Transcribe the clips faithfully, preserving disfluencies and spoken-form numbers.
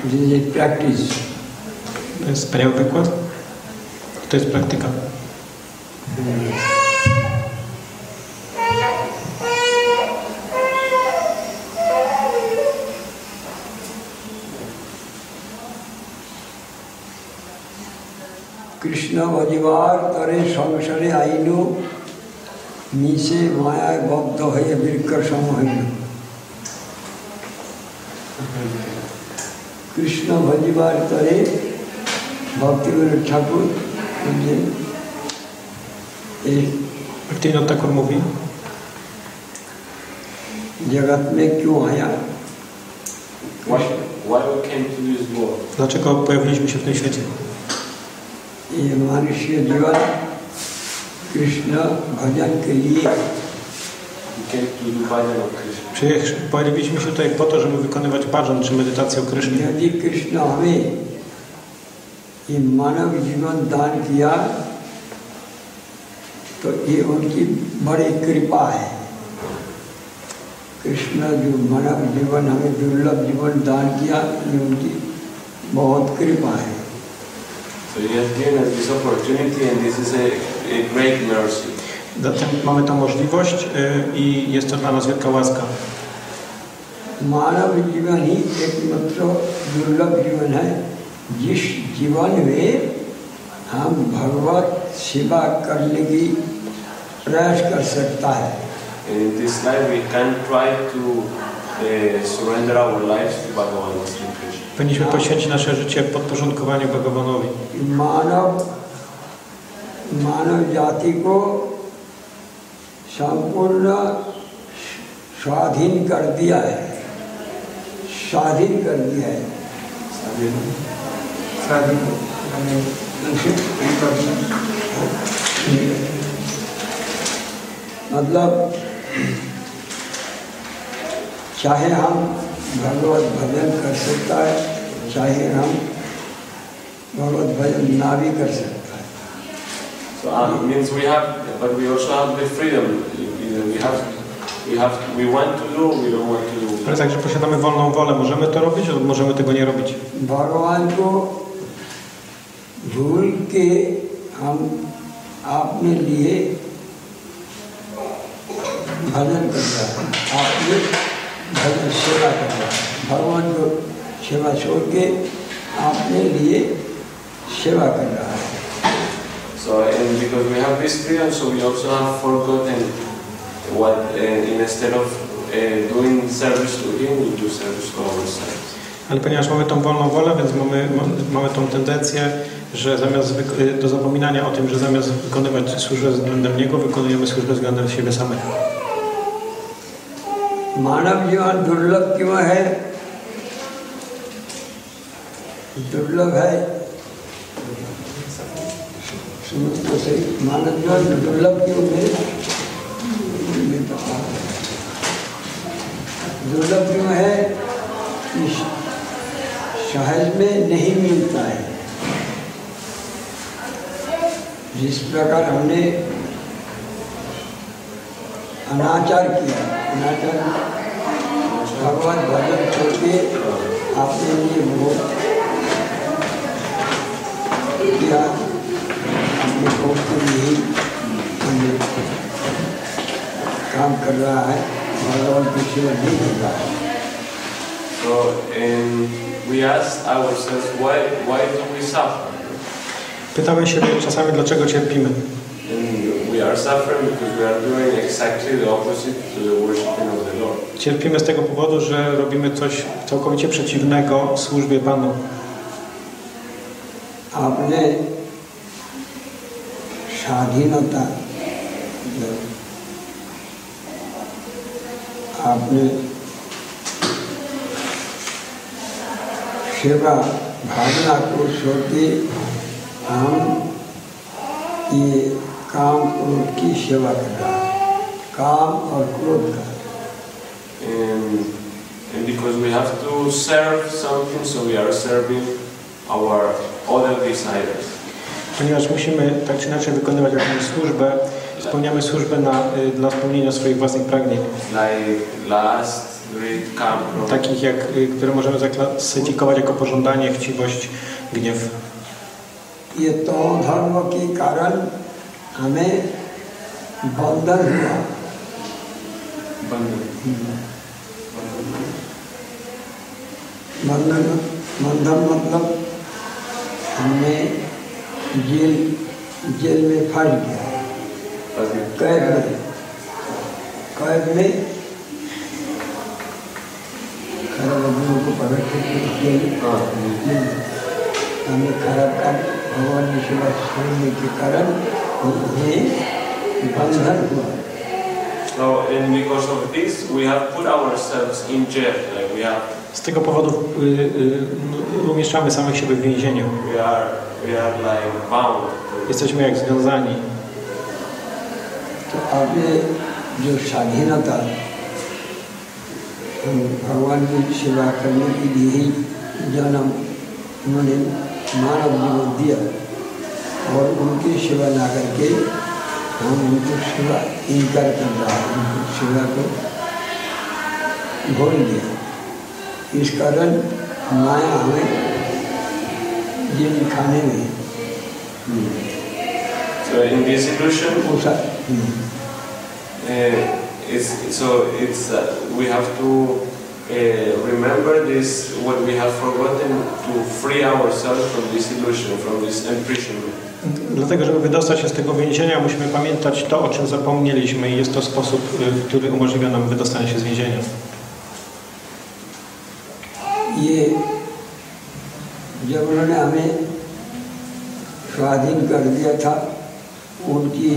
This is practice. To jest wspaniały wykład. To jest praktyka. Hmm. Krishna Vajivar tare samsare ainu mise maya bhaddha hai virkar samahinu. Krishna Vajivar tare Bhaktivinoda Thakur Bhaktivinoda Thakur mówi, जगत में क्यों आया? Why, why we came to this world? Dlaczego pojawiliśmy się w tym świecie? ये मनुष्य जीवन कृष्ण भजन के लिए pojawiliśmy się tutaj po to, żeby wykonywać bhajan czy medytację o Krysznie. यदि कृष्ण हमें ये मानव जीवन दान किया तो ये उनकी बड़ी कृपा है. कृष्ण जो मानव जीवन हमें दुर्लभ जीवन दान किया ये उनकी बहुत कृपा है. So he has given us this opportunity and this is a, a great mercy. Zatem mamy tę możliwość y, i jest to dla nas wielka łaska. मानव जीवन ही एकमात्र दुर्लभ जीवन है जिस जीवन में हम भगवत सेवा करने की प्रयास कर सकता है. In this life we can try to uh, surrender our lives to Bhagavan Sri Krishna. Powinniśmy poświęcić nasze życie podporządkowaniu Bhagavanowi. मानव मानव जाति को संपूर्ण स्वाधीन कर दिया है. स्वाधीन कर दिया है. स्वाधीन मतलब चाहे हम भगवत भजन कर सकता है चाहे हम भगवत भजन ना भी कर सकता है. So uh, it means we have, but we also have the freedom. We have, we have, we want to do, we don't want to do. Ale także posiadamy wolną wolę. Możemy to robić, lub możemy tego nie robić. भगवान को भूल के हम अपने लिए भजन कर रहा है. आपने भजन सेवा कर रहा है. भगवान को सेवा छोड़ के अपने लिए सेवा कर रहा है. So and because we have this freedom, so we also have forgotten what uh, instead of uh, doing service to Him, we do service to ourselves. Ale ponieważ mamy tą wolną wolę, więc mamy, mamy tą tendencję, że zamiast do zapominania o tym, że zamiast wykonywać służbę względem Niego, wykonujemy służbę względem siebie samego. मानव जीवन दुर्लभ क्यों है? दुर्लभ है सुनो तो सही. मानव जीवन दुर्लभ क्यों है? दुर्लभ क्यों है? सहज में नहीं मिलता है. जिस प्रकार हमने अनाचार किया, अनाचार भगवत भजन छोड़ के अपने लिए वो किया, अपने भोग के लिए हमने काम कर रहा है, भगवान की सेवा नहीं कर रहा है. So and we ask ourselves, why why do we suffer? Pytamy się czasami, dlaczego cierpimy. And we are suffering because we are doing exactly the opposite to the worshiping of the Lord. Cierpimy z tego powodu, że robimy coś całkowicie przeciwnego służbie Panu. आपने स्वाधीनता आपने सेवा भावना को छोड़ के हम ये काम क्रोध की सेवा कर रहा है. काम और क्रोध का. And, and because we have to serve something, so we are serving our other desires. Ponieważ musimy tak czy inaczej wykonywać jakąś służbę, spełniamy służbę na, dla spełnienia swoich własnych pragnień. Like last, greed, calm, wrath. takich, jak, y, które możemy zaklasyfikować jako pożądanie, chciwość, gniew. ये तो धर्म के कारण हमें बंधन हुआ। बंधन बंधन मतलब हमने जेल जेल में फंस गया, कैद में कैद में खराब आदमियों को पकड़ के जेल हमें खराब कर भगवान की सेवा छोड़ने के कारण उन्हें बंधन हुआ। So, and because of this, we have put ourselves in jail. Like we have. Z tego powodu y, y, umieszczamy samych siebie w więzieniu. We are, we are like bound. Jesteśmy jak związani. तो आपने जो स्वाधीनता भगवान की सेवा करने के लिए ही जन्म उन्होंने मानव जीवन दिया और उनकी सेवा ना करके हम उनको सेवा इनकार कर रहा है, उनको सेवा को भूल गया। इस कारण माया हमें जेल खाने में So in this illusion, उसा uh, it's, so it's uh, we have to uh, remember this what we have forgotten to free ourselves from this illusion, from this imprisonment. Dlatego, żeby wydostać się z tego więzienia, musimy pamiętać to, o czym zapomnieliśmy i jest to sposób, który umożliwia nam wydostanie się z więzienia. ये जब उन्होंने हमें स्वाधीन कर दिया था, उनकी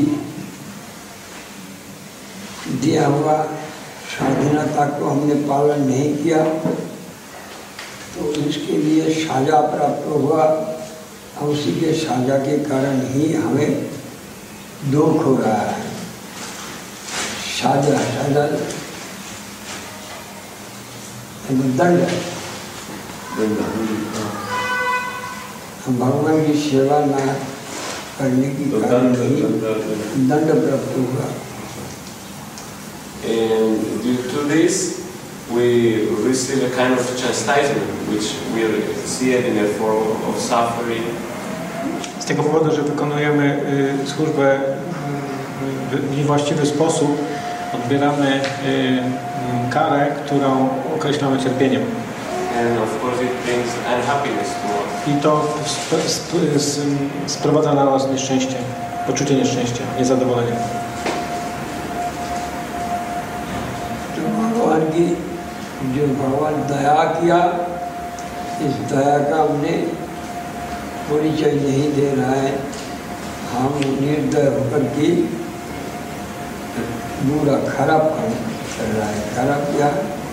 दिया हुआ स्वाधीनता को हमने पालन नहीं किया तो इसके लिए साजा प्राप्त हुआ और उसी के साजा के कारण ही हमें दुख हो रहा है। साजा साजा दंड, हम भगवान की सेवा न करने की कारण ही दंड प्राप्त हुआ। And due to this, we receive a kind of chastisement, which we see it in a form of suffering. Z tego powodu, że wykonujemy y, służbę y, w niewłaściwy sposób, odbieramy y, y, karę, którą określamy cierpieniem. And of course it brings unhappiness to us. I to sp sp sp sprowadza na nas nieszczęście, poczucie nieszczęścia, niezadowolenia. भगवान की जो भगवान दया किया, इस दया का हमने परिचय नहीं दे रहा है। हम निर्दय होकर के बुरा खराब काम कर रहा है। खराब क्या?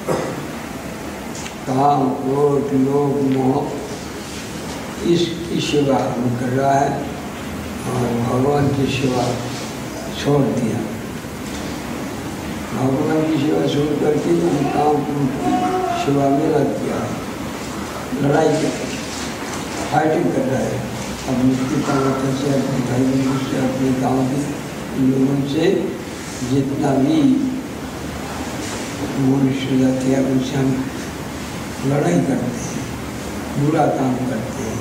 काम, क्रोध, लोभ, मोह, इसकी सेवा हम कर रहा है और भगवान की सेवा छोड़ दिया। भगवान की सेवा छोड़ करके हम काम की सेवा में लग गया, लड़ाई कर फाइटिंग कर रहा है अपने पिता माता से, अपने भाई बहनों से, अपने गाँव के लोगों से, जितना भी मनुष्य जाति है उनसे हम लड़ाई करते हैं, बुरा काम करते हैं।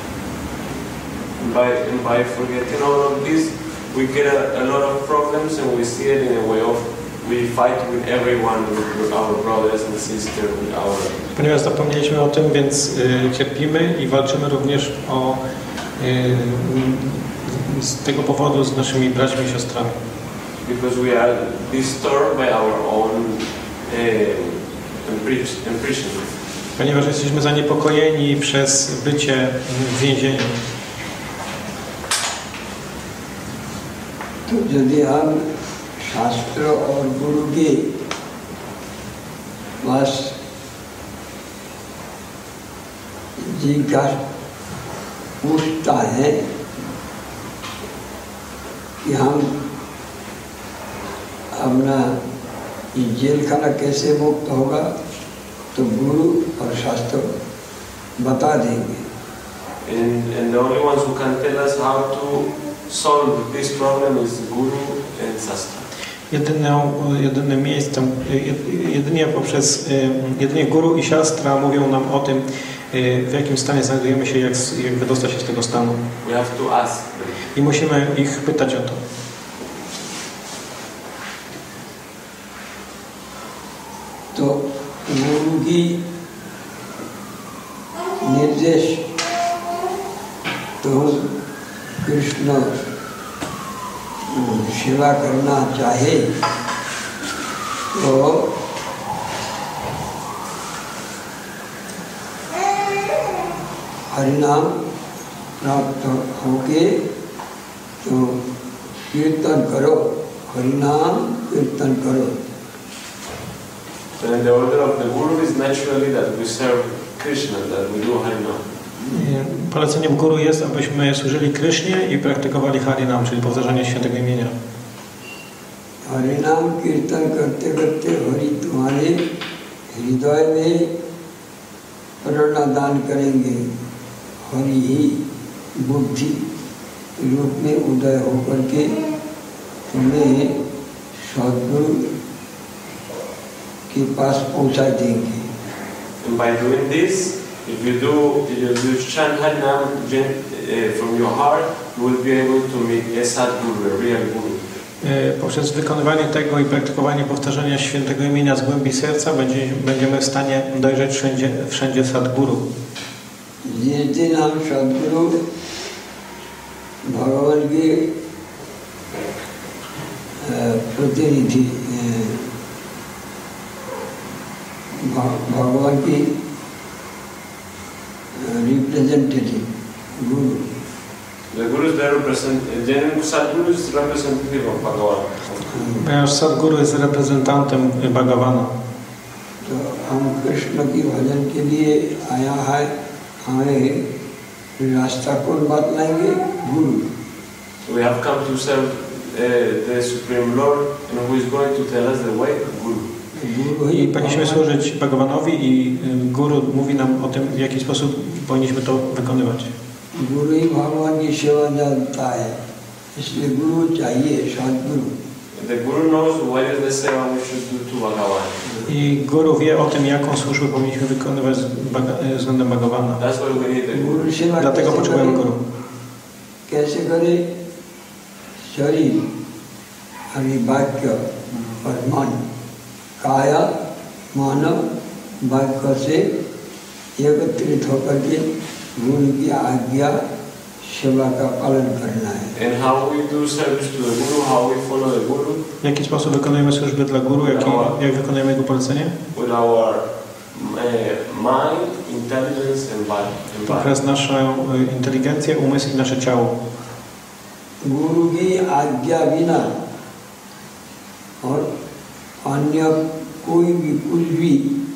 By, by forgetting all of this, we get a, a lot of problems and we see it in a way of we fight with everyone, with our brothers and sisters, with our... Ponieważ zapomnieliśmy o tym, więc y, cierpimy i walczymy również o, y, z tego powodu z naszymi braćmi i siostrami. Because we are disturbed by our own uh, imprisonment. Ponieważ jesteśmy zaniepokojeni przez bycie w więzieniu. तो यदि हम शास्त्र और गुरु के पास जिज्ञासा पूछता है कि हम अपना जेल खाना कैसे मुक्त होगा, तो गुरु और शास्त्र बता देंगे। And, and the only ones who can tell us how to solve this problem is Guru and Shastra. Jedyną, jedynym miejscem, jedynie poprzez, jedynie guru i siostra mówią nam o tym, w jakim stanie znajdujemy się, jak, jak wydostać się z tego stanu. We have to ask them. I musimy ich pytać o to. तो गुरु की निर्देश तो कृष्ण सेवा करना चाहे तो हरिनाम प्राप्त होके तो कीर्तन करो, हरिनाम कीर्तन करो. And the order of the Guru is naturally that we serve Krishna, that we do Harinam. Poleceniem Guru jest, abyśmy służyli Krysznie i praktykowali Harinam, czyli powtarzanie świętego imienia. Harinam kirtan karte karte hari tumhare hriday mein prana dan karenge. Hari hi buddhi रूप में उदय होकर के तुम्हें सद्गुरु के पास पहुंचा देंगे. And by doing this, if you do, if you chant Harinam uh, from your heart, you will be able to meet a Sadguru, a real Guru. Poprzez wykonywanie tego i praktykowanie powtarzania świętego imienia z głębi serca będzie, będziemy w stanie dojrzeć wszędzie, wszędzie Sadguru. जिस दिन हम सद्गुरु भगवान के प्रतिनिधि भगवान की रिप्रेजेंटेटिव गुरु. The Guru is the represent, the Sadguru is representative of Bhagavan. Ponieważ Sadguru jest reprezentantem Bhagavana. तो हम कृष्ण की भजन के लिए आया है, हमें रास्ता कौन बतलाएंगे? गुरु. We have come to serve uh, the Supreme Lord, and who is going to tell us the way? Guru. I powinniśmy służyć Bhagavanowi i Guru mówi nam o tym, w jaki sposób powinniśmy to wykonywać. गुरु ही भगवान की सेवा जानता है, इसलिए गुरु चाहिए, सद्गुरु. The Guru knows what is the seva we should do to Bhagavan. I Guru wie o tym, jaką służbę powinniśmy wykonywać względem Bhagavana. That's why we need the Guru. Dlatego potrzebujemy Guru. कैसे करे? शरीर, हरि वाक्य और मन, काया मानव वाक्य से एकत्रित होकर के गुरु की आज्ञा सेवा का पालन करना है. And how we do service to the Guru, how we follow the Guru. W jaki sposób wykonujemy służbę dla Guru, jak, jak wykonujemy jego polecenie? With our uh, mind, intelligence and body. Poprzez naszą inteligencję, umysł i nasze ciało. गुरु की आज्ञा बिना और अन्य कोई भी कुछ भी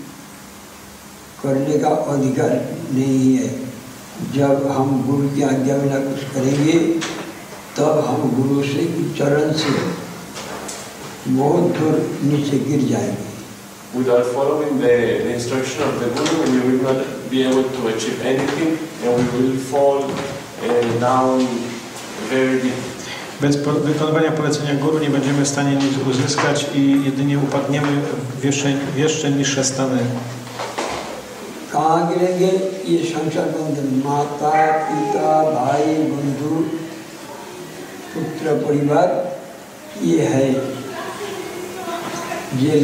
करने का अधिकार नहीं है. जब हम गुरु की आज्ञा बिना कुछ करेंगे तब हम गुरु से चरण से बहुत दूर नीचे गिर जाएंगे. Without following the, the instruction of the Guru, we will not be able to achieve anything, and we will fall uh, down very deep. Bez wykonywania polecenia Guru nie będziemy w stanie nic uzyskać i jedynie upadniemy w jeszcze, w jeszcze niższe stany. कहाँ गिरेंगे? ये संसार बंधन, माता पिता भाई बंधु पुत्र परिवार, ये है jail.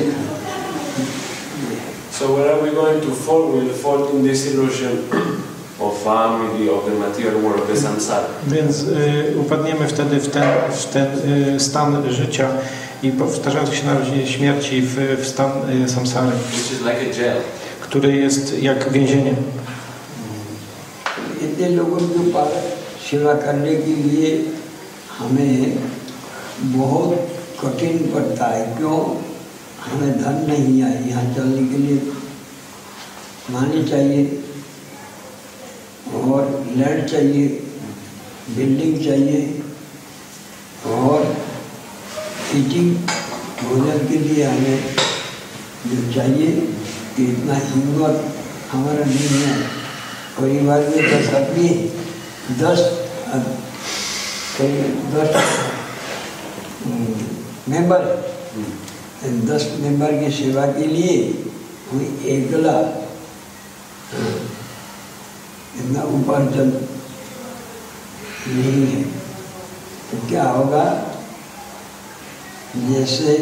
So where are we going to fall? We will fall in this illusion of family, of the material world, the samsara. Więc y, upadniemy wtedy w ten, w ten y, stan życia i powtarzający się narodzin śmierci w, w stan y, samsary, Which is like a jail. który jest jak więzienie. इतने लोगों के पास सेवा करने के लिए हमें बहुत कठिन पड़ता है. क्यों? हमें धन नहीं है, यहाँ चलने के लिए मानी चाहिए और लैंड चाहिए, बिल्डिंग चाहिए और ईटिंग भोजन के लिए हमें जो चाहिए कि इतना हिम्मत हमारा नहीं है. परिवार में दस आदमी, दस दस मेंबर दस मेंबर की सेवा के लिए कोई एकला इतना उपार्जन नहीं है। तो क्या होगा, जैसे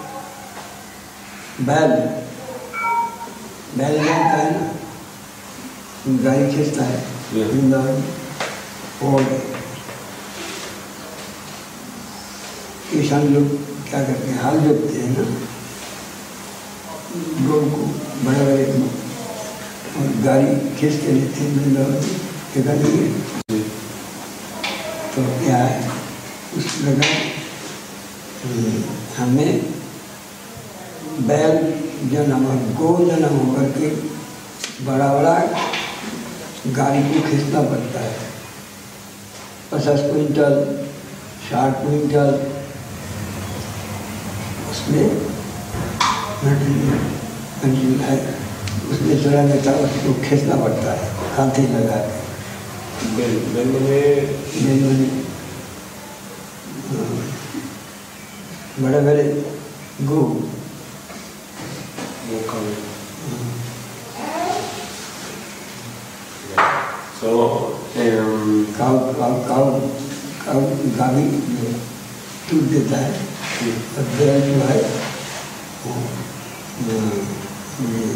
बैल बैल जानता है ना, गाय खींचता है वृंदावन, और किसान लोग क्या करते हैं, हाल जोतते हैं ना गौ को, बड़े बड़े और गाड़ी खींच के लेते हैं वृंदावन जगह नहीं है। तो क्या है, उस प्रकार हमें बैल जन्म और गौ जन्म होकर के बड़ा बड़ा गाड़ी को खींचना पड़ता है, पचास क्विंटल साठ क्विंटल उसमें है, उसमें चढ़ा देता है, उसको खींचना पड़ता है हाथी लगा के। बेल बेल में बेल में बड़े बड़े गो So, um, काव काव काव काव गावी टूट देता है, और बैल जो है वो ये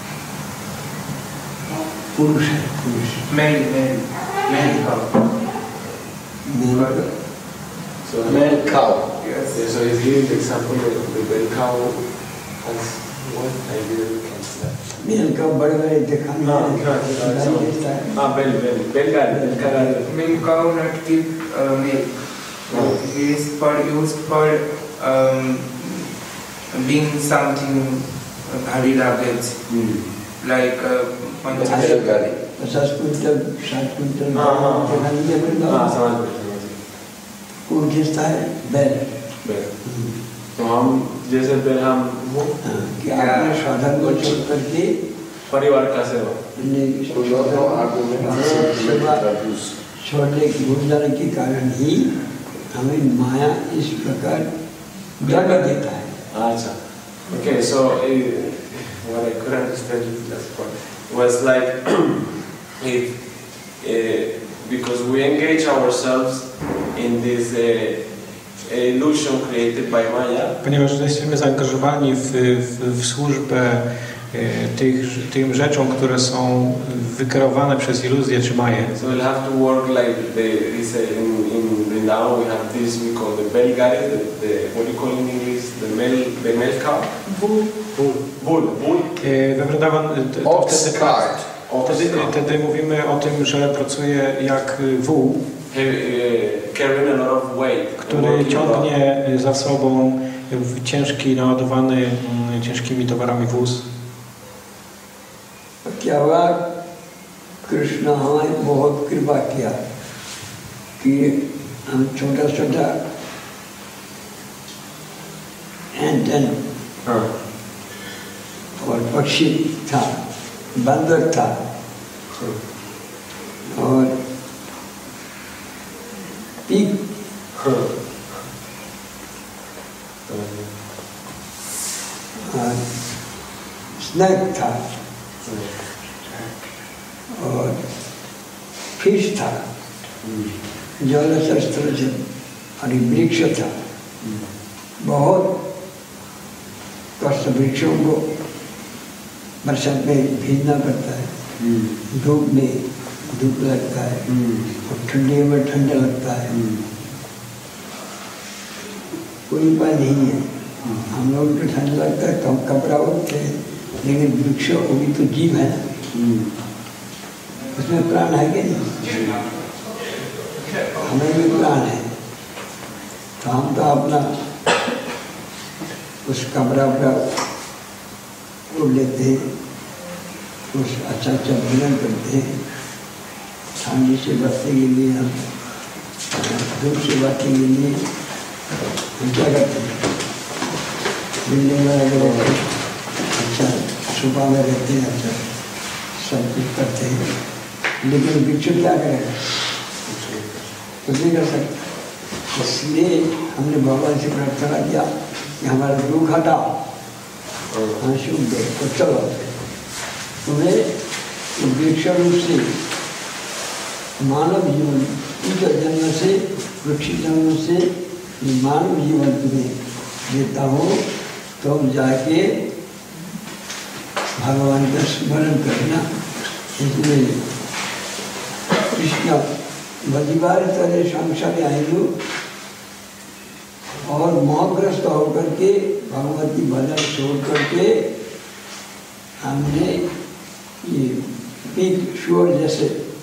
पुरुष है, पुरुष mail mail mail cow mail so, Male cow. yes so he's giving the example of the bell cow as what I didn't catch that. Mail का बड़े बड़े देखा हाँ, हाँ, हाँ, देता है। हाँ, बेल बेल बेल गाड़ी बेल का गाड़ी male cow not give uh, milk. Oh. It is for used for um, being something uh, very luggage like uh, panchayat Male गाड़ी. पचास क्विंटल साठ क्विंटल हाँ, हाँ, हाँ। देखा नहीं है वृंदावन। हाँ, समझ गए समझ गए कौन खींचता है, बैल। बेल तो हम जैसे बेल हम वो हाँ, कि आपने साधन को छोड़ करके परिवार का सेवा अपने So you have no argument हाँ, to सेवा introduce. छोड़ने की भूल जाने के कारण ही हमें माया इस प्रकार दंड देता है। अच्छा okay so uh, what I could understand in the last part was like if uh, because we engage ourselves in this uh, illusion created by Maya. Ponieważ jesteśmy zaangażowani w, w, w służbę e, tych, tym rzeczom, które są wykreowane przez iluzję czy maję. So we'll have to work like the this uh, in in Vrindavan we have this we call the bell gari, the, the what do you call in English the male the male cow bull bull bull bull. E, We Vrindavan t- to Ox wtedy, cart. wtedy, wtedy mówimy o tym, że pracuje jak wół, He, uh, carrying a lot of weight, który working a lot. ciągnie za sobą ciężki, naładowany mm, ciężkimi towarami wóz. क्या हुआ, कृष्ण हमारी बहुत कृपा किया कि हम छोटा छोटा एंटन हाँ. और पक्षी था, बंदर था और पीक हाँ. और स्नैक था और फिश था, जलशस्त्र और वृक्ष था। बहुत कष्ट वृक्षों को बरसात में भीगना पड़ता है, धूप में धूप लगता है और ठंडी में ठंडा लगता है, कोई उपाय नहीं है। हम लोग को ठंड लगता है तो हम कपड़ा ओढ़ते हैं, लेकिन वृक्ष वो भी तो जीव है ना, उसमें प्राण है कि नहीं, हमें भी प्राण है। तो हम तो अपना उस कपड़ा वपड़ा ओढ़ लेते हैं, उस अच्छा अच्छा भोजन करते हैं, ठंडी से बचने के लिए हम, धूप से बचने के लिए हम क्या करते हैं, बिल्डिंग में अगर अच्छा सुबह में रहते हैं, अच्छा सब कुछ करते हैं, लेकिन वृक्ष क्या करेगा, कुछ नहीं कर सकता। इसलिए हमने भगवान से प्रार्थना किया कि हमारा दुख हटाओ, हम शुद्ध तो चलो तुम्हें वृक्ष रूप से मानव जीवन इस जन्म से वृक्ष जन्म से मानव जीवन तुम्हें देता हूँ, तो जाके भगवान का स्मरण करना। इसलिए कृष्ण बलिवार तरह संसार आयु और मोहग्रस्त होकर के भगवती भजन छोड़ करके हमने ये पीक शोर जैसे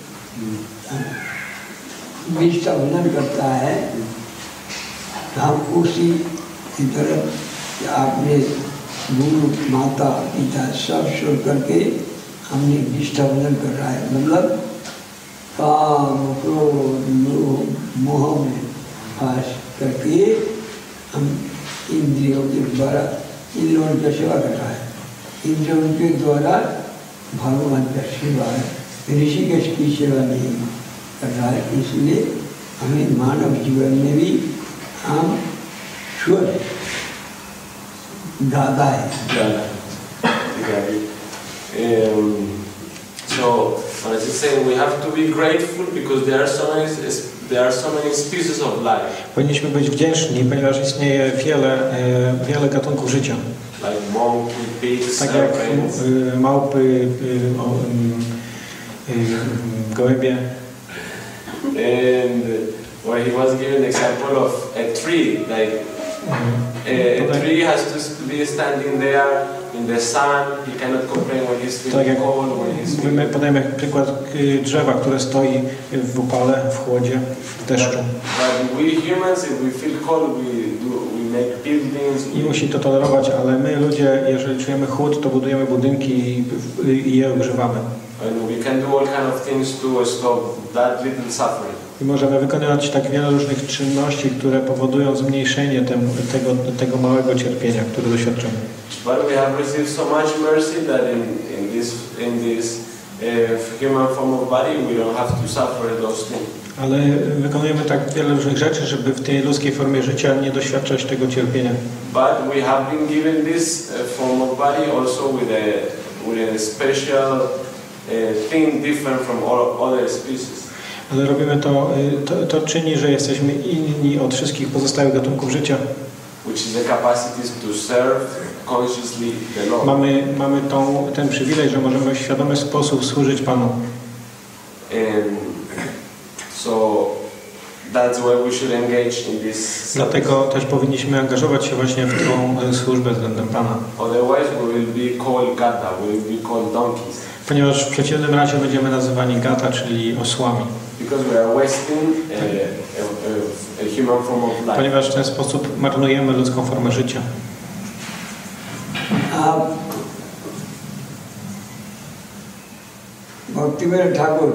बीज का भजन करता है, हम उसी की तरफ आपने गुरु माता पिता सब छोड़ करके हमने बीज का भजन कर रहा है। मतलब काम क्रोध लोभ मोह में फांस करके हम इंद्रियों के द्वारा इंद्रियों की सेवा कर रहा है, इंद्रियों के द्वारा भगवान का सेवा है, ऋषिकेश की सेवा नहीं कर रहा है। इसलिए हमें मानव जीवन में भी हम शुद्ध गादा है। So, as you say, we have to be grateful because there are so many, there are so many species of life. Powinniśmy być wdzięczni, ponieważ istnieje wiele, e, wiele gatunków życia. Like monkey, pigs, Tak jak serpents. y, małpy, y, o, y, y, gołębie. And where he was given an example of a tree, like a, a tree has to be standing there in the sun. He cannot complain when he's Tak feeling jak cold, when he's feeling. my podajemy jak przykład y, drzewa, które stoi w upale, w chłodzie, w deszczu. But we humans, if we feel cold, we do, we make buildings. I musi to tolerować, ale my ludzie, jeżeli czujemy chłód, to budujemy budynki i, i je ogrzewamy. And we can do all kind of things to stop that little suffering. I możemy wykonywać tak wiele różnych czynności, które powodują zmniejszenie tem, tego, tego małego cierpienia, które doświadczamy. But we have received so much mercy that in, in this, in this uh, human form of body, we don't have to suffer those things. Ale wykonujemy tak wiele różnych rzeczy, żeby w tej ludzkiej formie życia nie doświadczać tego cierpienia. But we have been given this uh, form of body also with a, with a special uh, thing different from all other species. Ale robimy to, to, to czyni, że jesteśmy inni od wszystkich pozostałych gatunków życia. Which is the capacity to serve consciously the Lord. Mamy, mamy tą, ten przywilej, że możemy w świadomy sposób służyć Panu. And so that's why we should engage in this. Dlatego też powinniśmy angażować się właśnie w tą służbę względem Pana. Otherwise we will be called gata, we will be called donkeys. Ponieważ w przeciwnym razie będziemy nazywani gata, czyli osłami. Because we are wasting a, a, a human form of life. Ponieważ w ten sposób marnujemy ludzką formę życia. आप भक्तिवेद ठाकुर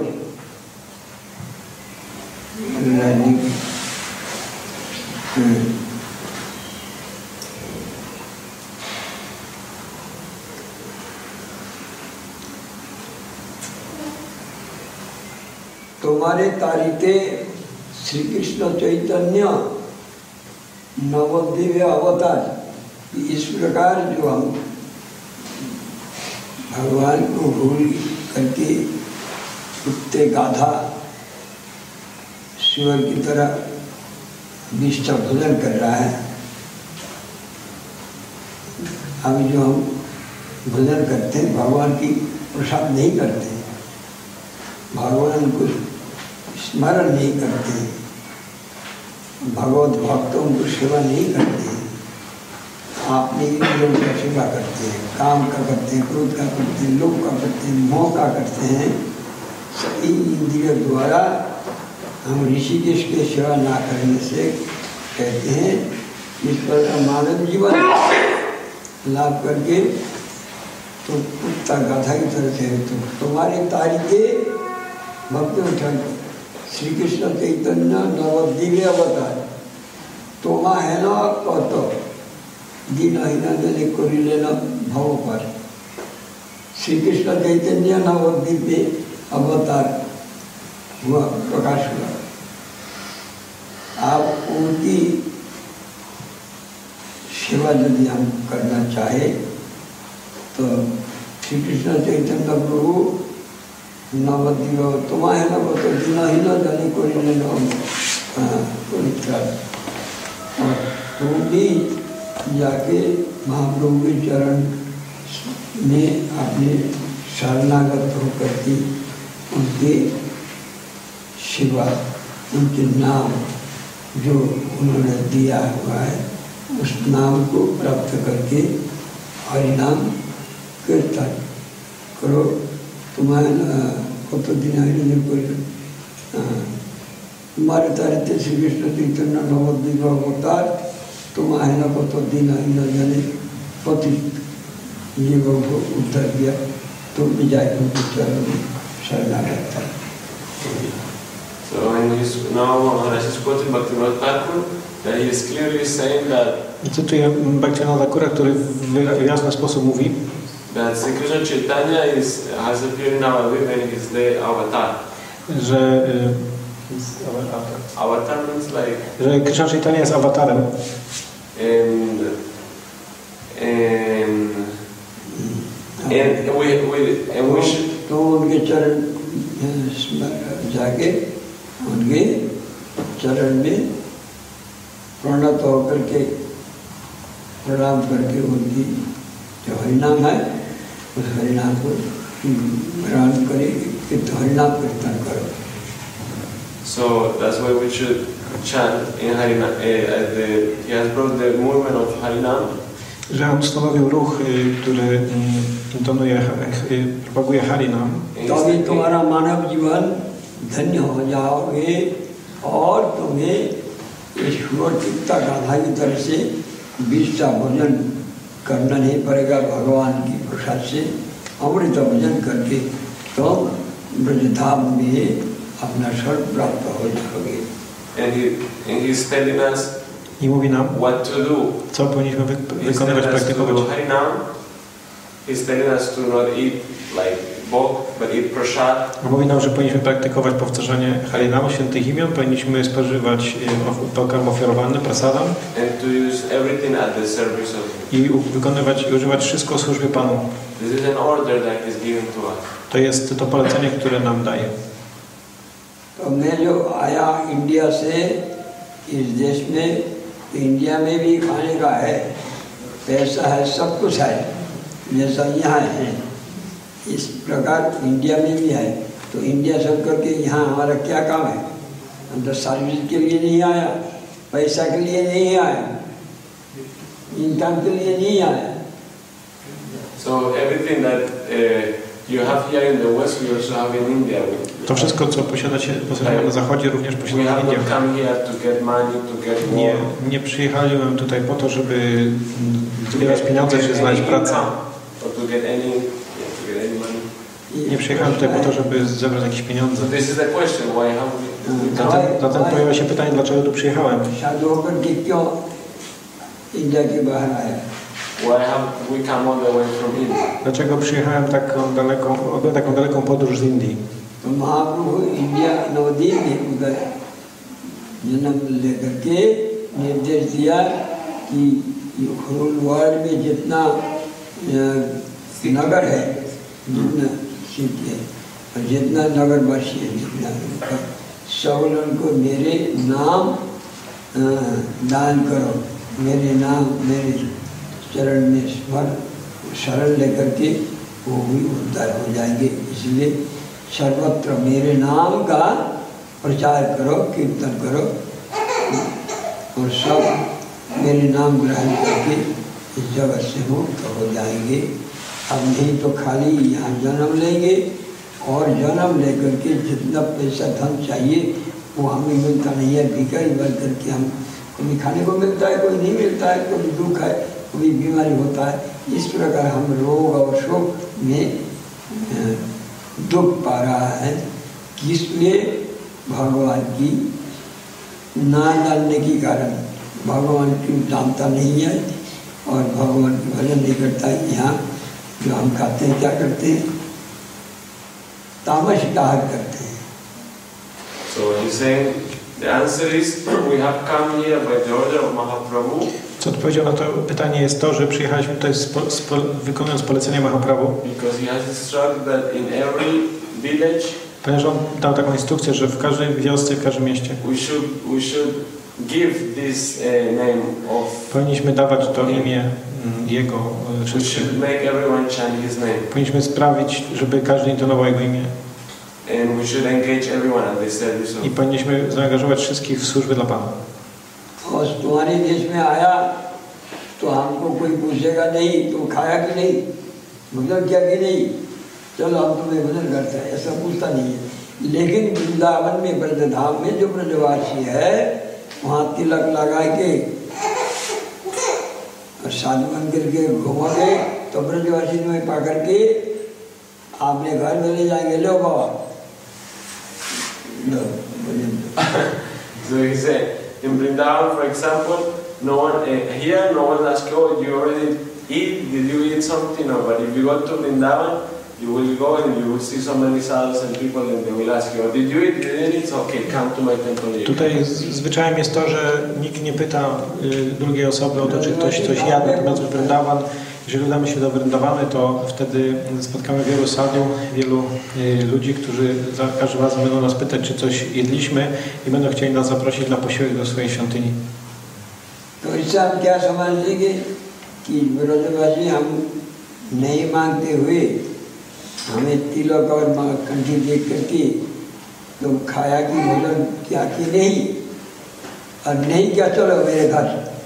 तुम्हारे तारीखे श्री कृष्ण चैतन्य नवदिव्य अवतार, इस प्रकार जो हम भगवान को भूल करके कुत्ते गाधा शिव की तरह विष्णु भजन कर रहा है। अभी जो हम भजन करते हैं भगवान की प्रसाद नहीं करते, भगवान को स्मरण नहीं करते, भगवत भक्तों को सेवा नहीं करते, अपने इंद्रियों का सेवा करते हैं, काम का करते हैं, क्रोध का करते हैं, लोभ का करते हैं, मोह का करते हैं। सभी इंद्रियों द्वारा हम ऋषिकेश की सेवा ना करने से कहते हैं इस पर मानव जीवन लाभ करके तो कुत्ता गाधा की तरह से तो तुम्हारे तारीखे भक्त उठन श्री कृष्ण चैतन्य नवदिव्य अवतार तोमा है ना कत दीनहीन जने करिलेन भव पर श्री कृष्ण चैतन्य नवदिव्य अवतार हुआ प्रकाश हुआ। आप उनकी सेवा ऐसा यदि हम करना चाहे तो श्री कृष्ण चैतन्य प्रभु नवदिव तुम्हारे न तो दिन ही न जाने कोई कोई और तुम भी जाके महाप्रभु के चरण में अपने शरणागत होकर के उनके शिवा उनके नाम जो उन्होंने दिया हुआ है उस नाम को प्राप्त करके हरिनाम कीर्तन करो। तुम्हारे कत दिन तुम्हारे तारित श्री कृष्ण चैतन्य नवद्वीप अवतार तुम्हारे न कत दिन न जाने पति जीवों को उद्धार किया तुम भी जाए उनके चरण में शरणागत था। So when he's now Maharaj is quoting Bhaktivinoda Thakur, that he is clearly saying that cytuję Bhaktivinoda Thakura, który w jasny sposób mówi, that Sri Krishna Chaitanya is has appeared in our way when he is the avatar. Że avatar means like że Krishna Chaitanya jest awatarem. And and and we we and we should तो उनके चरण जाके उनके चरण में प्रणत होकर के प्रणाम करके उनकी जो हरिनाम है उस हरिनाम को ग्रहण करें कि हरिनाम कीर्तन करो। So that's why we should chant in Harinam. Uh, the, he has brought the movement of Harinam. Że on stanowił ruch, który intonuje, propaguje Harinam. तभी तुम्हारा मानव जीवन धन्य हो जाओगे और तुम्हें ईश्वर चित्ता गाथा की तरह से बीस का भोजन करना नहीं पड़ेगा। भगवान की प्रसाद से अमृत भोजन करके तुम ब्रजधाम में अपना स्वर्ग प्राप्त हो जाओगे। And he and he's telling us I mówi nam, what to do. Co powinniśmy wy wykonywać, praktykować. He's telling us to not eat like bok, but eat prasad. Mówi nam, że powinniśmy praktykować powtarzanie Harinamu, świętych imion, powinniśmy spożywać pokarm ofiarowany, prasadam. And to use everything at the service of Him. I wykonywać i używać wszystko w służbie Panu. This is an order that is given to us. To jest to polecenie, które nam daje. तो मैं जो आया इंडिया से इस देश में, इंडिया में भी खाने का है, पैसा है, सब कुछ है, जैसा यहाँ है इस प्रकार इंडिया में भी है। तो इंडिया सब करके यहाँ हमारा क्या काम है? हम तो सर्विस के लिए नहीं आया, पैसा के लिए नहीं आया, इनकम के लिए नहीं आया। So everything that uh, you have here in the West, we also have in India. To wszystko, co posiadacie, posiadamy na Zachodzie, również posiadamy w Indiach. Nie, nie przyjechałem tutaj po to, żeby zbierać pieniądze, czy znaleźć pracę. Nie przyjechałem tutaj po to, żeby zebrać jakieś pieniądze. Zatem, zatem pojawia się pytanie, dlaczego tu przyjechałem. Why have we come all the way from India? Dlaczego przyjechałem taką daleką, taką daleką podróż z Indii? तो महाप्रभु इंडिया नवदीप में उधर जन्म लेकर के निर्देश दिया कि whole world में जितना नगर है, जितना सिटी है और जितना नगरवासी है, जितना सब उनको मेरे नाम दान करो, मेरे नाम मेरे चरण में स्मरण शरण लेकर के वो भी उद्धार हो जाएंगे। इसलिए सर्वत्र मेरे नाम का प्रचार करो, कीर्तन करो और सब मेरे नाम ग्रहण करके इस जगत से मुक्त हो जाएंगे। अब नहीं तो खाली यहाँ जन्म लेंगे और जन्म लेकर के जितना पैसा धन चाहिए वो हमें मिलता नहीं है। भिखारी बन करके हम कभी खाने को मिलता है, कोई नहीं मिलता है, कभी दुख है, कभी बीमारी होता है। इस प्रकार हम रोग और शोक में दुख पा रहा है, इसलिए भगवान की ना जानने के कारण भगवान की जानता नहीं है और भगवान की भजन नहीं करता है। यहाँ जो हम खाते हैं क्या करते हैं? तामस का आहार करते हैं। So he's saying the answer is we have come here by the order of Mahaprabhu Co odpowiedzią na to pytanie jest to, że przyjechaliśmy tutaj spo, spo, wykonując polecenia Mahaprabhu. Because he has instructed that in every village, ponieważ on dał taką instrukcję, że w każdej wiosce, w każdym mieście we should we should give this uh, name of. Powinniśmy dawać to imię jego We should make everyone chant his name. Powinniśmy sprawić, żeby każdy intonował jego imię. And we should engage everyone at the service of. I powinniśmy zaangażować wszystkich w służbę dla Pana. और तुम्हारे देश में आया तो हमको कोई पूछेगा नहीं तो खाया कि नहीं, भोजन किया कि नहीं, चलो हम तुम्हें भोजन करते हैं, ऐसा पूछता नहीं है। लेकिन वृंदावन में ब्रजधाम में जो ब्रजवासी है वहाँ तिलक लगा के और साधु बन करके घूमोगे तो ब्रजवासी में पा करके आपने घर में ले जाएंगे, लो बाबा लो भोजन। So he said, in Vrindavan, for example, no one uh, here, no one asks, "Oh, you already eat? Did you eat something?" No, but if you go to Vrindavan, you will go and you will see so many sadhus and people, and they will ask you, "Oh, did you eat? Did you eat? Okay, come to my temple." Tutaj zwyczajem jest to, że nikt nie pyta y, drugiej osoby o to, czy ktoś coś jadł, natomiast w Vrindavan, jeżeli udamy się do Vrindavany, to wtedy spotkamy wielu sadhu, wielu y, ludzi, którzy za każdym razem będą nas pytać, czy coś jedliśmy i będą chcieli nas zaprosić na posiłek do swojej świątyni. तो इससे हम क्या समझ लेंगे कि ब्रजवासी हम नहीं मांगते हुए हमें तिलक और कंठी देख करके तो खाया कि भोजन क्या कि नहीं, और नहीं क्या चलो मेरे घर,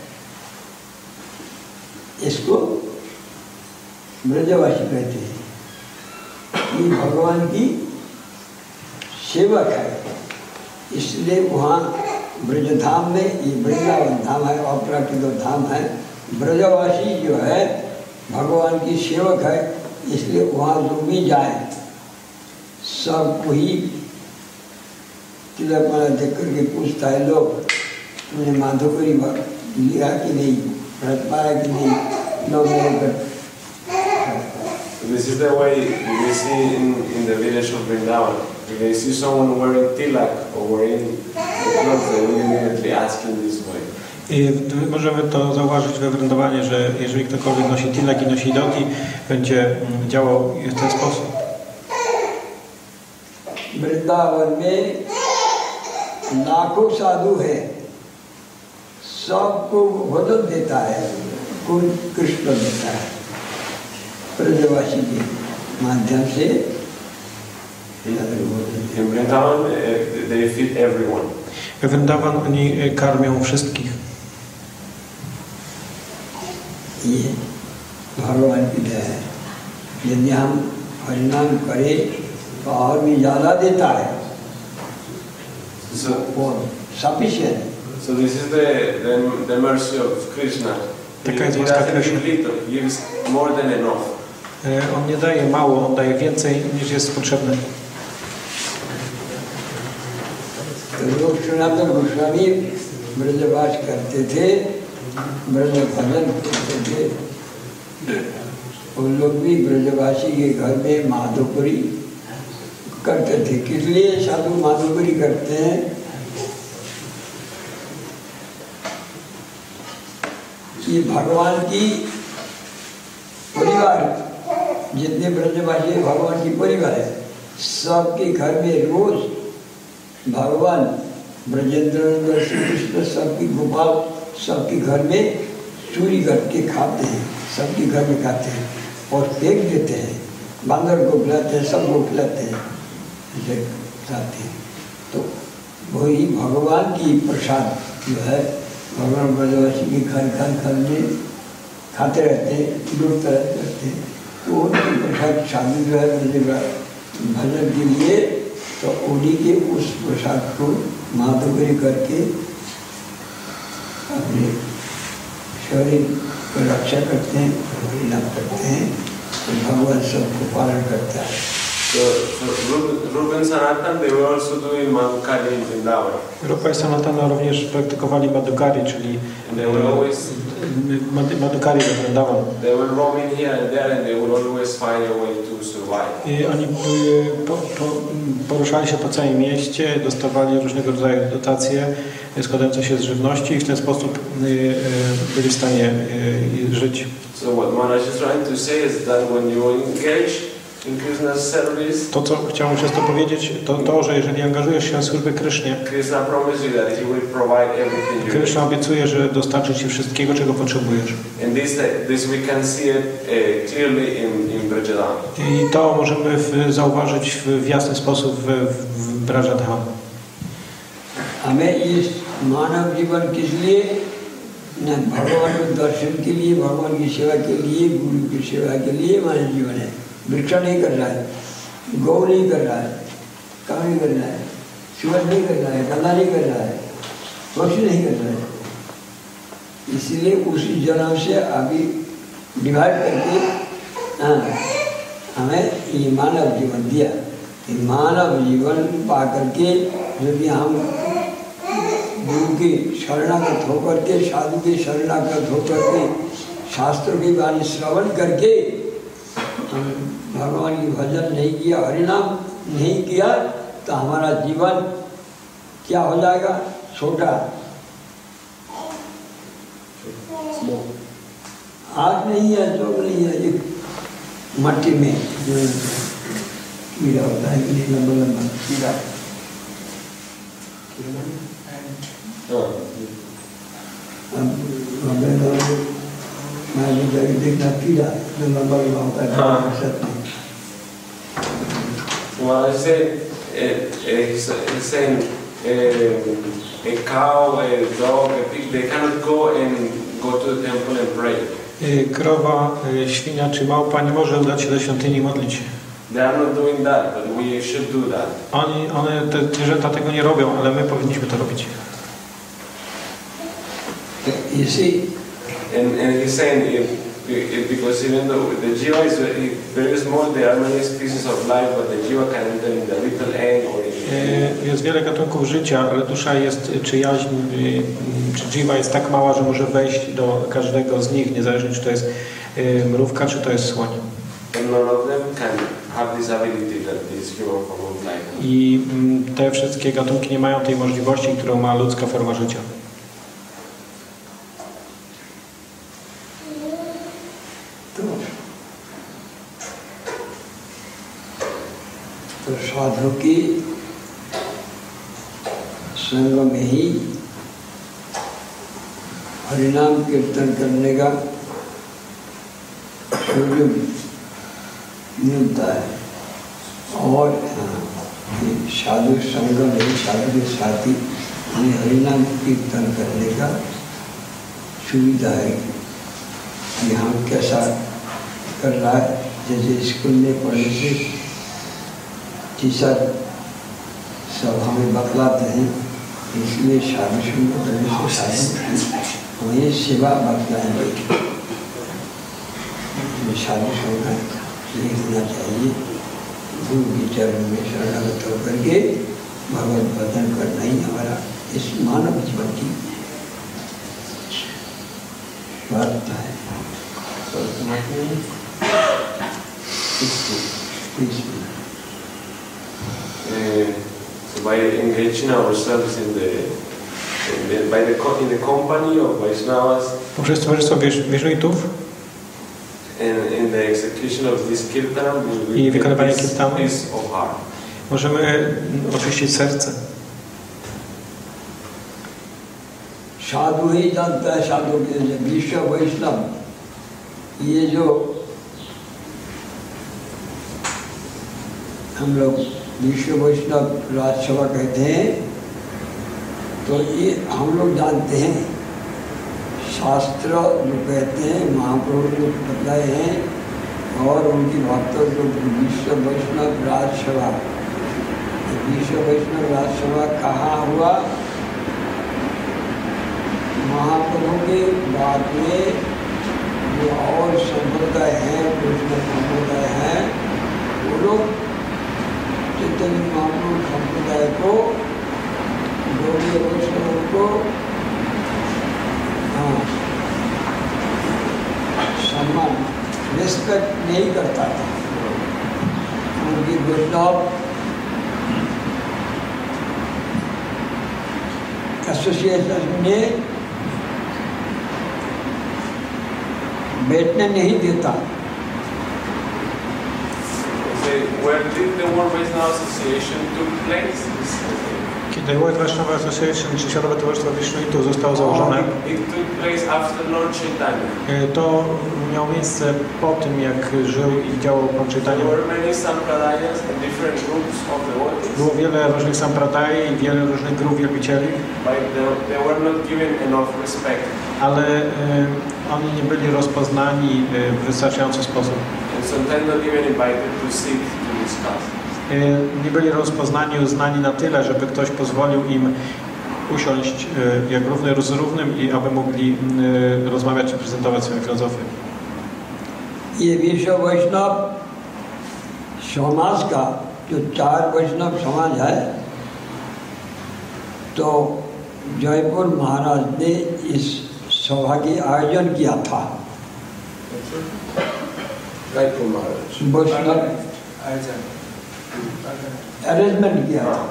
इसको ब्रजवासी कहते हैं। ये भगवान की सेवक है, इसलिए वहाँ ब्रजधाम में, ये वृंदावन धाम है, अपराकृत धाम है, ब्रजवासी जो है भगवान की सेवक है, इसलिए वहाँ जो भी जाए सबको ही तिलक माला देख करके पूछता है, लोग तुमने माधोकरी लिया कि नहीं, व्रत पाया कि नहीं, लोग मेरे कर। This is the way we see in, in the village of Vrindavan. If they see someone wearing tilak or wearing clothes, they will immediately ask in this way. I możemy to zauważyć we Vrindavanie, że jeżeli ktokolwiek nosi tilak i nosi dogi, będzie działał w ten sposób. Vrindavan में लाखों साधु है, सबको भोजन देता है, कौन कृष्ण देता है ब्रजवासी के माध्यम से। In Vrindavan, uh, they feed everyone. We Vrindavan oni karmią wszystkich. ये भगवान की दया है, यदि हम हरिनाम करें तो और भी ज़्यादा देता है, So, sufficient. so this is the, the, the mercy of Krishna. He, he doesn't give little, he gives more than enough. On nie daje mało, on daje więcej niż jest potrzebne. लोग सनातन गोस्वामी ब्रजवास करते थे, ब्रज भजन करते थे, उन लोग भी ब्रजवासी के घर में माधोपुरी करते थे। किस लिए साधु माधोपुरी करते हैं? कि भगवान की परिवार, जितने ब्रजवासी भगवान की परिवार है, सबके घर में रोज भगवान ब्रजेंद्र श्री कृष्ण सबकी गोपाल सबके घर में चूरी करके खाते हैं, सबके घर में खाते हैं और फेंक देते हैं, बांदर को खिलाते हैं, सबको खिलाते हैं, ऐसे खाते हैं। तो वही भगवान की प्रसाद जो है, भगवान ब्रजवासी के घर घर घर में खाते रहते हैं, लूटते रहते हैं। तो उनकी प्रसाद शादी जो है भजन के लिए, तो उन्हीं के उस प्रसाद को माधुकरी करके अपने शरीर को रक्षा करते हैं, परिणाम करते हैं, तो भगवान सबको पालन करता है। So, so Rupa and Sanatan, they were also doing Madhukari in Vrindavan. Rupa i Sanatana również praktykowali Madhukari, czyli And they were always Madhukari Vrindavan. They were roaming here and there and they would always find a way to survive. I oni po, po, poruszali się po całym mieście, dostawali różnego rodzaju dotacje składające się z żywności i w ten sposób byli w stanie żyć. So what Maharaj is trying to say is that when you engage in Krishna's service, to, co chciałem przez to powiedzieć, to to, że jeżeli angażujesz się w służbę Krysznie, Krishna promises you that He will provide everything you Kryszna need. obiecuje, że dostarczy Ci wszystkiego, czego potrzebujesz. And this, this we can see it uh, clearly in, in Brajadham. I to możemy w, zauważyć w, w jasny sposób w, w Brajadham. हमें इस मानव जीवन किस लिए न भगवान के दर्शन के लिए, भगवान की सेवा के लिए, गुरु की सेवा के लिए मानव जीवन है। भिक्षा नहीं कर रहा है, गौ नहीं कर रहा है, काम नहीं कर रहा है, शिवन नहीं कर रहा है, गला नहीं कर रहा है, कुछ नहीं कर रहा है। इसलिए उसी जन्म से अभी डिवाइड करके हाँ हमें ये मानव जीवन दिया। ये मानव जीवन पा करके यदि हम गुरु की शरणागत होकर के, साधु की शरणागत होकर के, शास्त्रों की वाणी श्रवण करके हम भगवान की भजन नहीं किया, हरिनाम नहीं किया, तो हमारा जीवन क्या हो जाएगा? छोटा। आग नहीं है, जोग नहीं है, एक मट्टी में जो कीड़ा होता है, लंबा लंबा कीड़ा। मैं देखना कीड़ा जो लंबा लंबा होता है। Well, I say, he's saying a cow, a dog, a pig, they cannot go and go to the temple and pray. Krowa, świnia czy małpa nie może udać się do świątyni i modlić się. They are not doing that, but we should do that. Oni, one, te zwierzęta tego nie robią, ale my powinniśmy to robić. You see, and and he's saying if, if because even though the jiva is very small, there are many species of life, but the jiva can enter in the little egg or in Jest wiele gatunków życia, ale dusza jest, czy jaźń, czy jiva jest tak mała, że może wejść do każdego z nich, niezależnie czy to jest mrówka, czy to jest słoń. And none of them can have this ability that this human form of life. I te wszystkie gatunki nie mają tej możliwości, którą ma ludzka forma życia. तो साधु की संग में ही हरिनाम कीर्तन करने का सुयोग मिलता है। और साधु संग में साधु के साथी हमें हरिनाम कीर्तन करने का सुविधा है कि हम कैसा कर रहा है। जैसे स्कूल में पढ़ने से टीचर सब हमें बतलाते हैं, इसलिए साधु संग करने से हमें सेवा बतलाएंगे। साधु संग नहीं होना चाहिए, गुरु के चरण में शरणागत होकर के भगवत भजन करना ही हमारा इस मानव जीवन की वार्ता है। Uh, so by engaging ourselves in the, in the by the in the company of Vaishnavas, poprzez towarzystwo wieżuitów and in the execution of this kirtanam, we i will wykonywanie get this kirtanu peace of heart. możemy oczyścić serce. साधु ही जानता है साधु के विश्व वैष्णव, ये जो हम लोग विश्व वैष्णव राजसभा कहते हैं, तो ये हम लोग जानते हैं। शास्त्र जो कहते हैं, महाप्रभु जो बताए हैं और उनकी भक्तों जो विश्व वैष्णव राजसभा, विश्व वैष्णव राजसभा कहाँ हुआ? महाप्रभु के बाद में जो और संप्रदाय हैं, कृष्ण संप्रदाय हैं, वो लोग चैतन्य महाप्रभु संप्रदाय को, गौड़ीय वैष्णव को हाँ नहीं करता था। उनकी वैष्णव एसोसिएशन ने बैठने नहीं देता। Where did the World Vaishnava Association took place? Kiedy World Vaishnava Association, czy Światowe Towarzystwo Wisznuitów zostało założone, It took place after Lord Chaitanya. e, to miało miejsce po tym, jak żył i działał Pan Chaitanya. There were many sampradayas and different groups of devotees, Było wiele różnych sampradai i wiele różnych grup wielbicieli, but they, they were not given enough respect. ale e, oni nie byli rozpoznani e, w wystarczający sposób. And sometimes not even invited to sit to discuss. Nie byli rozpoznani, uznani na tyle, żeby ktoś pozwolił im usiąść jak równy z równym i aby mogli rozmawiać i prezentować swoją filozofię. ये विश्व वैष्णव समाज का जो चार वैष्णव समाज है, तो जयपुर महाराज ने इस सभा की आयोजन किया था। Jayapur Maharaj. वैष्णव अरेंजमेंट किया था।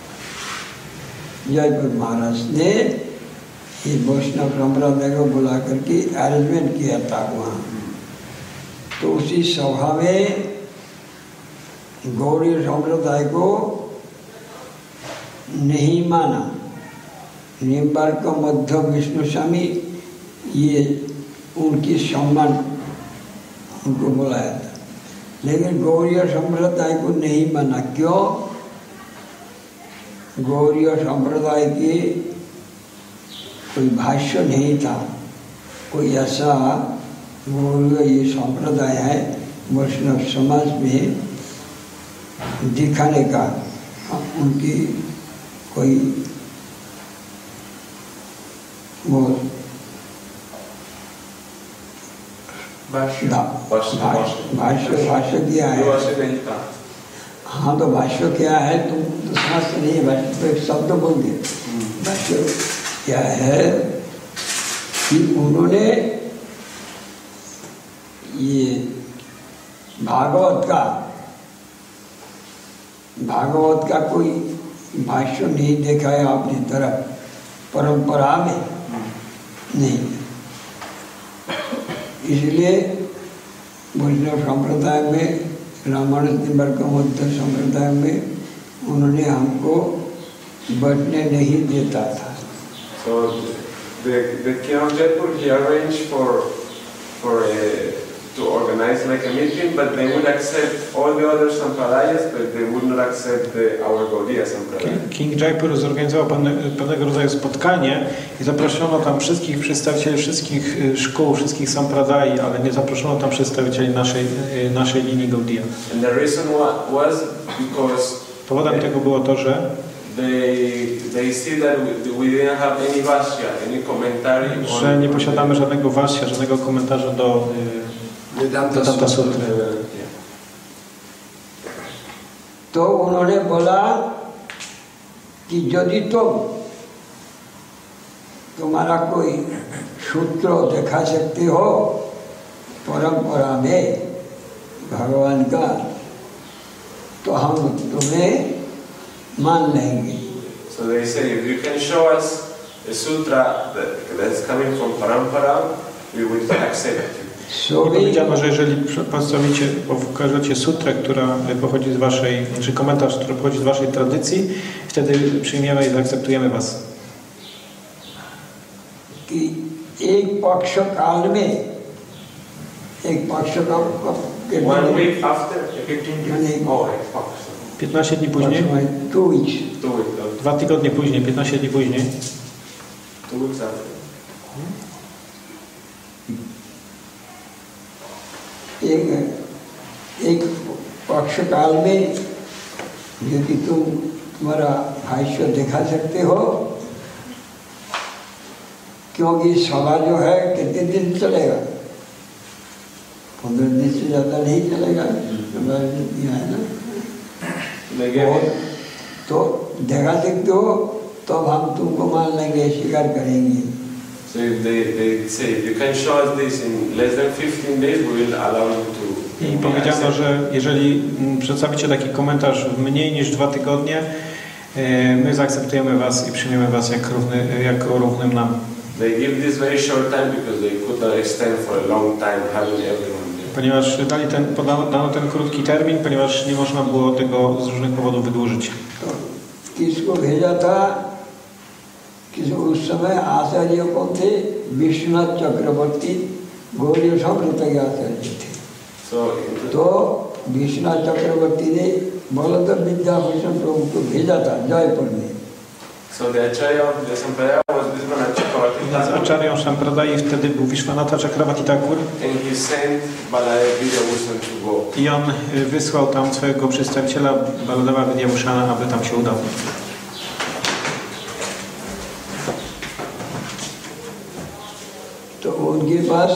जयपुर महाराज ने ये वैष्णव संप्रदाय को बुला करके अरेंजमेंट किया था वहाँ। तो उसी सभा में गौड़ी संप्रदाय को नहीं माना। निम्बार्क मध्य विष्णु स्वामी ये उनकी सम्मान उनको बुलाया था, लेकिन गौड़ीय संप्रदाय को नहीं माना। क्यों? गौड़ीय संप्रदाय के कोई भाष्य नहीं था, कोई ऐसा गौड़ीय ये संप्रदाय है वैष्णव समाज में दिखाने का उनकी कोई वो भाष्य भाष्य भाष्य किया है। हाँ, तो भाष्य क्या है? तुम तो समझते नहीं, भाष्य तो एक शब्द बोल दिए। भाष्य क्या है कि उन्होंने ये भागवत का भागवत का कोई भाष्य नहीं देखा है अपनी तरफ, परंपरा में नहीं। इसलिए वैष्णव संप्रदाय में, रामानुज निम्बार्क मध्य संप्रदाय में उन्होंने हमको बैठने नहीं देता था। So the the king of Jaipur, he arranged for for a, to organize like a meeting, but they would accept all the other sampradayas, but they would not accept the, our Gaudiya sampradaya. King Jaipur zorganizował pewne, pewnego rodzaju spotkanie i zaproszono tam wszystkich przedstawicieli wszystkich szkół, wszystkich sampradai, ale nie zaproszono tam przedstawicieli naszej, naszej linii Gaudiya. And the reason was because powodem tego było to, że They, they see that we, we didn't have any vasya, any commentary że nie posiadamy żadnego vasya, żadnego komentarza do Vedanta Sutry. तो उन्होंने बोला कि यदि तुम तुम्हारा कोई सूत्र दिखा सकते हो परंपरा में भगवान का, तो हम तुम्हें मान लेंगे। So they say, if you can show us a sutra that, that's coming from parampara, we will accept you. I powiedziano, że jeżeli przedstawicie, pokażecie sutrę, która pochodzi z waszej, czy komentarz, który pochodzi z waszej tradycji, wtedy przyjmiemy i zaakceptujemy was. कि एक पक्ष काल में एक पक्ष का one week after fifteen oh, piętnaście dni później, two weeks, two weeks, dwa tygodnie później, piętnaście dni później, two weeks after. एक एक पक्ष काल में यदि तुम तुम्हारा भाष्य दिखा सकते हो, क्योंकि सभा जो है कितने दिन चलेगा, पंद्रह दिन से ज़्यादा नहीं चलेगा, है ना। और तो देखा सकते हो तो हम तुमको मान लेंगे, स्वीकार करेंगे। So if they, they say, if you can show us this in less than fifteen days, we will allow you to I powiedziano, że jeżeli przedstawicie taki komentarz w mniej niż dwa tygodnie, my zaakceptujemy was i przyjmiemy was jak równy, jako równym nam. They give this very short time because they could not extend for a long time having everyone there. Ponieważ dali ten, podano ten krótki termin, ponieważ nie można było tego z różnych powodów wydłużyć. किसको भेजा था कि उस समय आचार्य कौन थे? विश्वनाथ चक्रवर्ती गौड़ीय संप्रदाय के आचार्य थे। So, तो विश्वनाथ चक्रवर्ती ने बलदेव विद्याभूषण प्रभु को भेजा था जयपुर में। so the Acharya of the Sampradaya was Vishwanath Chakravarti Z Acharyą Sampradai wtedy był Vishwanatha Chakravarti Thakur and he sent Baladev Vidyabhushan to go. i on wysłał tam swojego przedstawiciela Baladeva Vidyabhushana, aby tam się udał. तो उनके पास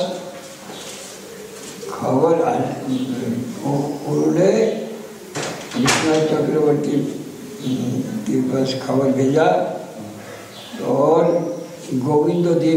खबर उन्होंने विश्वनाथ चक्रवर्ती के पास खबर भेजा और गोविंद देव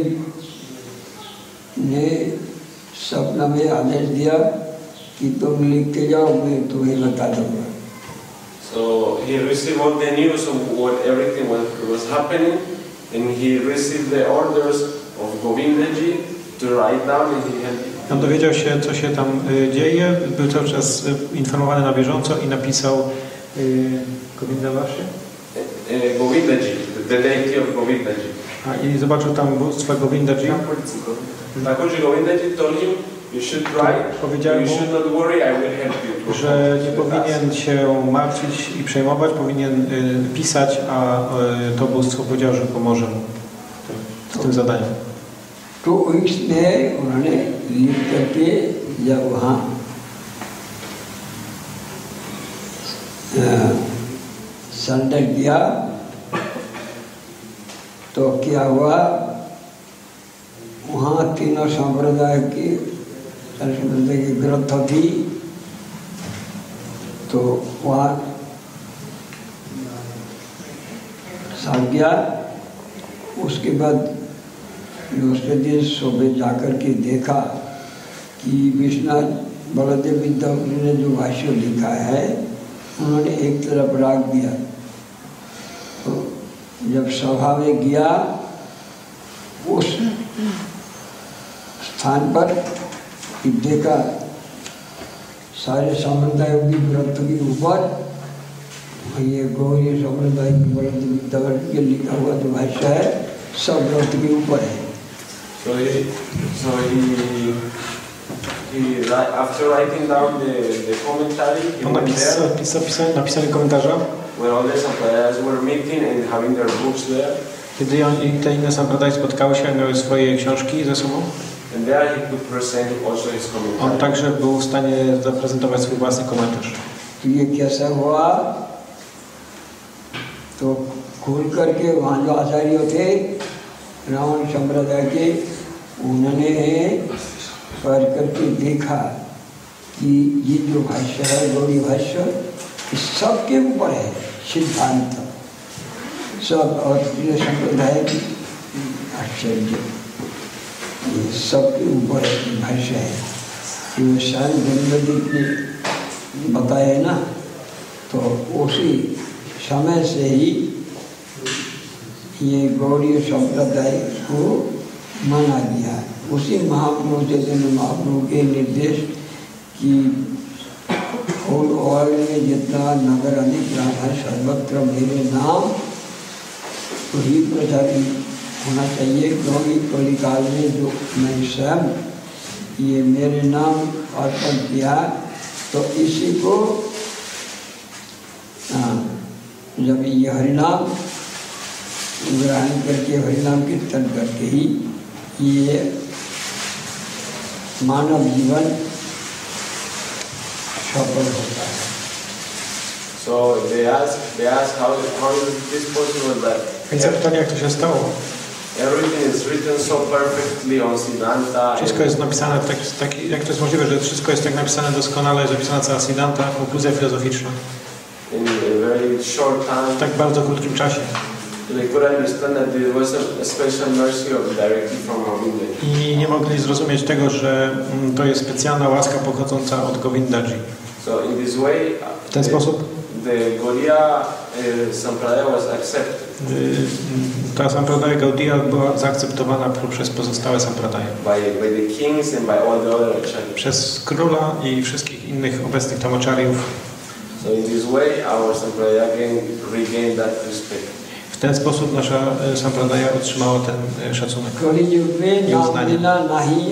ने सपना में आदेश दिया कि तुम लिखते जाओ, मैं तुम्हें बता दूंगा। So he received all the news of what everything was, was happening, and he received the orders of Govindaji to write down, and he had. On dowiedział się, co się tam y, dzieje, był cały czas y, informowany na bieżąco i napisał y, Govindawashi? Uh, Govindaji, the deity of Govindaji. A, i zobaczył tam bóstwa Govindaji. Thakurji Govindaji told him, you should write, you should not worry, I will help you. Że nie powinien się martwić i przejmować, powinien y, pisać, a y, to bóstwo powiedział, że pomoże mu w tym zadaniu. Two weeks में उन्होंने लिख करके जब वहाँ सरेंडर किया तो क्या हुआ, वहाँ तीनों संप्रदाय की संप्रदाय की ग्रंथ थी, तो वहाँ सड़ गया। उसके बाद दूसरे दिन सुबह जाकर के देखा कि विश्वनाथ बलदेव विद्याभूषण ने जो भाष्य लिखा है उन्होंने एक तरफ रख दिया। तो जब सभा में गया उस स्थान पर देखा सारे संप्रदायों की ग्रंथ के ऊपर ये गौरी संप्रदाय की बलदेव विद्याभूषण के लिखा हुआ जो भाष्य है सब ग्रंथ के ऊपर है। So he, so he, he, after writing down the, the commentary, he On went napis, there, napis, napis, napisali komentarza, where all the sampradayas were meeting and having their books there. kiedy on, i te inne sampradaje spotkały się, miały swoje książki ze sobą. And there he could present also his On commentary. także był w stanie zaprezentować swój własny komentarz. ये कैसा हुआ, तो खुल करके वहाँ जो आचार्य थे रावण संप्रदाय के, उन्होंने पढ़ करके देखा कि ये जो भाष्य है गौड़ी भाष्य इस सबके ऊपर है सिद्धांत, सब और ये संप्रदाय की आश्चर्य ये सबके ऊपर भाष्य है। ये शायद गंगदेव ने बताया ना, तो उसी समय से ही ये गौड़ीय संप्रदाय को माना गया। उसी महाप्रभु चैतन्य महाप्रभु के निर्देश की होल वर्ल्ड में जितना नगर अधिक ग्राम है सर्वत्र मेरे नाम तो ही प्रचारित होना चाहिए, क्योंकि कलिकाल में जो मैं स्वयं ये मेरे नाम अर्पण किया तो इसी को आ, जब ये हरिनाम ग्रहण करके हरिनाम कीर्तन करके ही ये मानव जीवन सफल होता है। So they asked, they asked how, how is this possible that Więc zapytanie, jak to się stało? everything is written so perfectly on Siddhanta. Wszystko jest napisane, tak, tak, jak to jest możliwe, że wszystko jest tak napisane doskonale, jest zapisana cała Siddhanta, konkluzja filozoficzna, In a very short time. w tak bardzo krótkim czasie. To they could understand that there was a, a special mercy of directly from Govindaji. I nie mogli zrozumieć tego, że mm, to jest specjalna łaska pochodząca od Govindaji. So in this way, W ten the, sposób the Gaudiya uh, Sampradaya was accepted. y, ta sampradaya Gaudiya była zaakceptowana przez pozostałe sampradaje. By, by the kings and by all the other acharyas. Przez króla i wszystkich innych obecnych tam acharyów. So in this way, our Sampradaya again regained that respect. W ten sposób nasza y, sampradaya otrzymała ten y, szacunek. कलियुग में नाम बिना नहीं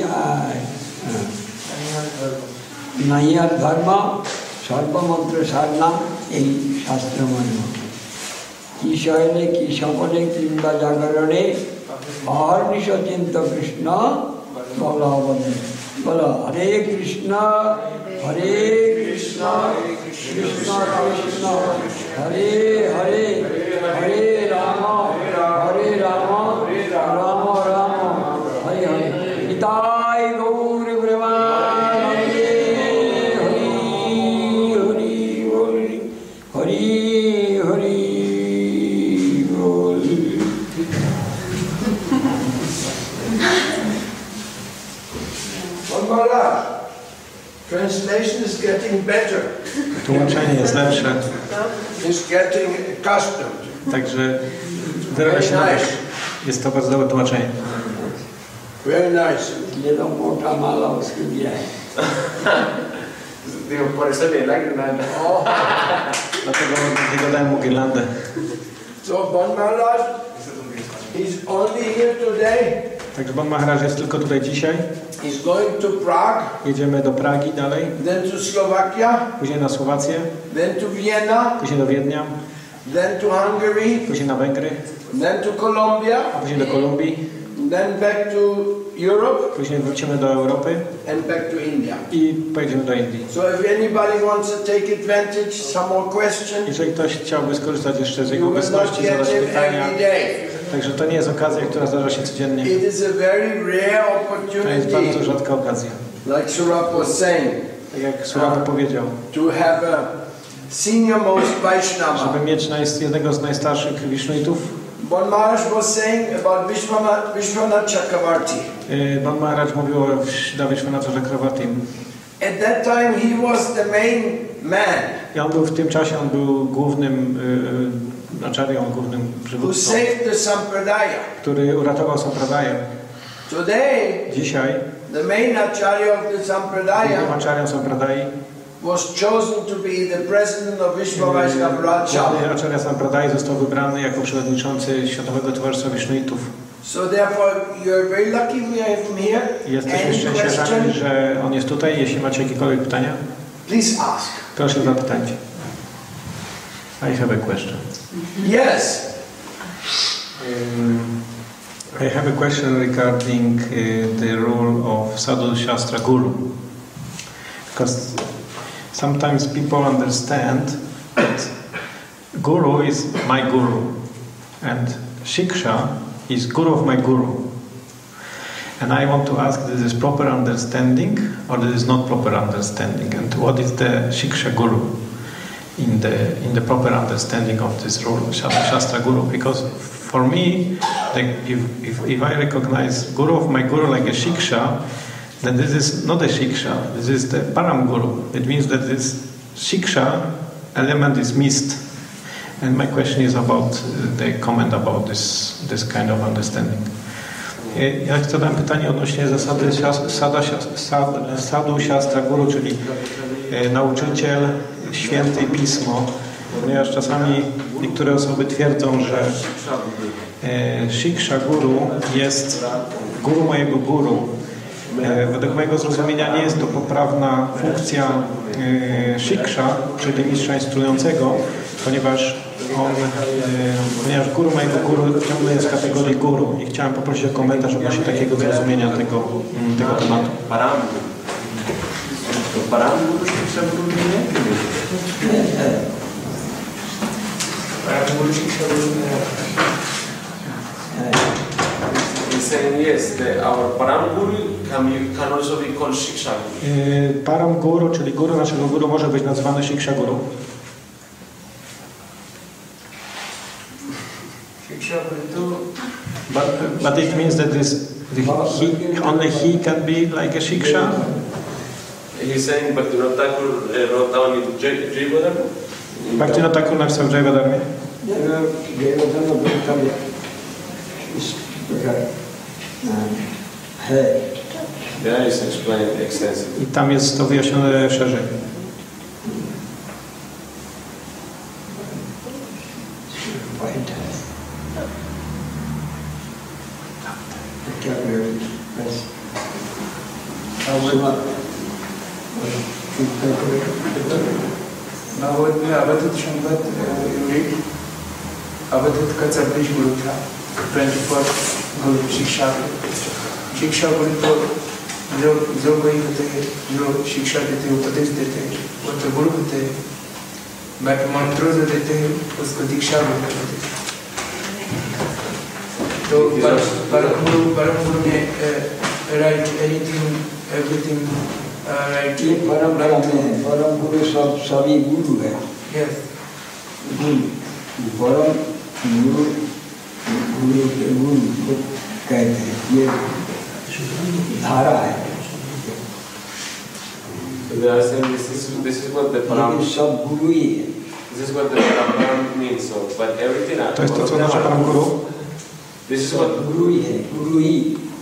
नहीं আর ধর্ম সর্বমন্ত্র সারনা এই শাস্ত্র মর্ম কি শয়নে কি স্বপনে কিংবা জাগরণে অহর্নিশ চিন্ত কৃষ্ণ বল বলে বল হরে কৃষ্ণ হরে কৃষ্ণ কৃষ্ণ কৃষ্ণ হরে হরে হরে রাম হরে রাম রাম রাম হরে হরে নিতাই গৌর প্রেমানন্দে হরি হরি বল হরি হরি বল Maharaj, translation is getting better. Tłumaczenie jest lepsze, Is getting accustomed. także wyrabia się na wierzch. Jest to bardzo dobre tłumaczenie. Very nice. ये तो मोटा माला उसके दिया है Digo, por eso le like nada. Dlatego dlatego dałem mu girlandę. So Bon Maharaj, he's only here today. Także Bon Maharaj jest tylko tutaj dzisiaj. He's going to Prague, Jedziemy do Pragi dalej, then to Slovakia, później na Słowację, then to Vienna, później do Wiednia, then to Hungary, później na Węgry, then to Colombia, a później do Kolumbii, then back to Europe, później wrócimy do Europy and back to India. i pojedziemy do Indii. So if anybody wants to take advantage, some more questions, Jeżeli ktoś chciałby skorzystać jeszcze z jego you will not obecności, get zadać them pytania, every day. także to nie jest okazja, która zdarza się codziennie. It is a very rare To jest bardzo opportunity, rzadka okazja. like Surap was saying, Tak jak Surapa powiedział, to have a senior most Vaishnava. żeby mieć najs- jednego z najstarszych Wisznuitów. Bon Maharaj was saying about Vishwanath, Vishwanath Chakravarti. Yy, Bon Maharaj mówił o Vishwanath Chakravartim. At that time he was the main man I on był w tym czasie, on był głównym yy, acharyą, głównym who przywódcą, saved the Sampradaya. który uratował Sampradaję. Today, Dzisiaj the main acharya of the głównym Sampradaya acharyą Sampradai, was chosen to be the president of Vishwa Vaishnava główny Rajya. acharya Sampradai został wybrany jako przewodniczący Światowego Towarzystwa Wisznuitów. So therefore, you're very lucky we have him here. Jesteśmy Any szczęściarzami, question? że on jest tutaj. Jeśli macie jakiekolwiek pytania, Please ask. proszę zapytajcie. I have a question. Yes. Um, I have a question regarding uh, the role of Sadhu Shastra Guru. Because sometimes people understand that Guru is my Guru and Shiksha is Guru of my Guru. And I want to ask, this is proper understanding or this is not proper understanding? And what is the Shiksha Guru in the in the proper understanding of this role of Shastra Guru? Because for me, like if, if, if I recognize Guru of my Guru like a Shiksha, then this is not a Shiksha, this is the Param Guru. It means that this Shiksha element is missed. And my question is about uh, the comment about this, this kind of understanding. Ja zadałem pytanie odnośnie zasady sada, sad, Sadhu Shastra Guru, czyli e, nauczyciel, święty i pismo, ponieważ czasami niektóre osoby twierdzą, że e, Shiksha Guru jest guru mojego guru. E, według mojego zrozumienia nie jest to poprawna funkcja e, Shiksha, czyli mistrza instruującego, ponieważ on, e, ponieważ guru mojego guru ciągle jest w kategorii guru i chciałem poprosić o komentarz odnośnie takiego zrozumienia tego, tego tematu. Param. Param Guru Shiksha Guru nie? Param Guru Shiksha Guru He's saying yes, the, our Param Guru can, be, can also be called Shiksha Guru. E, Param Guru, czyli guru naszego guru, może być nazywany Shiksha Guru. शिक्षा गुरु But, but it means that this, the, he, only he can be like a shiksha? He's saying Bhaktivinoda Thakur uh, wrote down in Jiva Dharma. Bhaktivinoda Thakur napisał w Jaiva Dharmie. There is explained extensively. I tam jest to wyjaśnione szerzej. Bhagavat में अवधूत संपत अवधूत का छब्बीस गुरु था twenty four गुरु शिक्षा शिक्षा गुरु तो जो जो कोई होते हैं जो शिक्षा देते हैं उपदेश देते हैं वो तो गुरु होते हैं बट मंत्रों जो देते हैं उसको दीक्षा बोलते हैं तो परम गुरु परम गुरु ने राइट एनीथिंग एवरीथिंग राइट ये परंपरा में परम गुरु सब सभी गुरु है यस गुरु परम गुरु गुरु के गुरु को कहते हैं ये धारा है So they are saying this is this is what the param लेकिन सब गुरु ही है this is what the param means. So but everything To jest to, co znaczy Param Guru. this is what गुरु ही है गुरु ही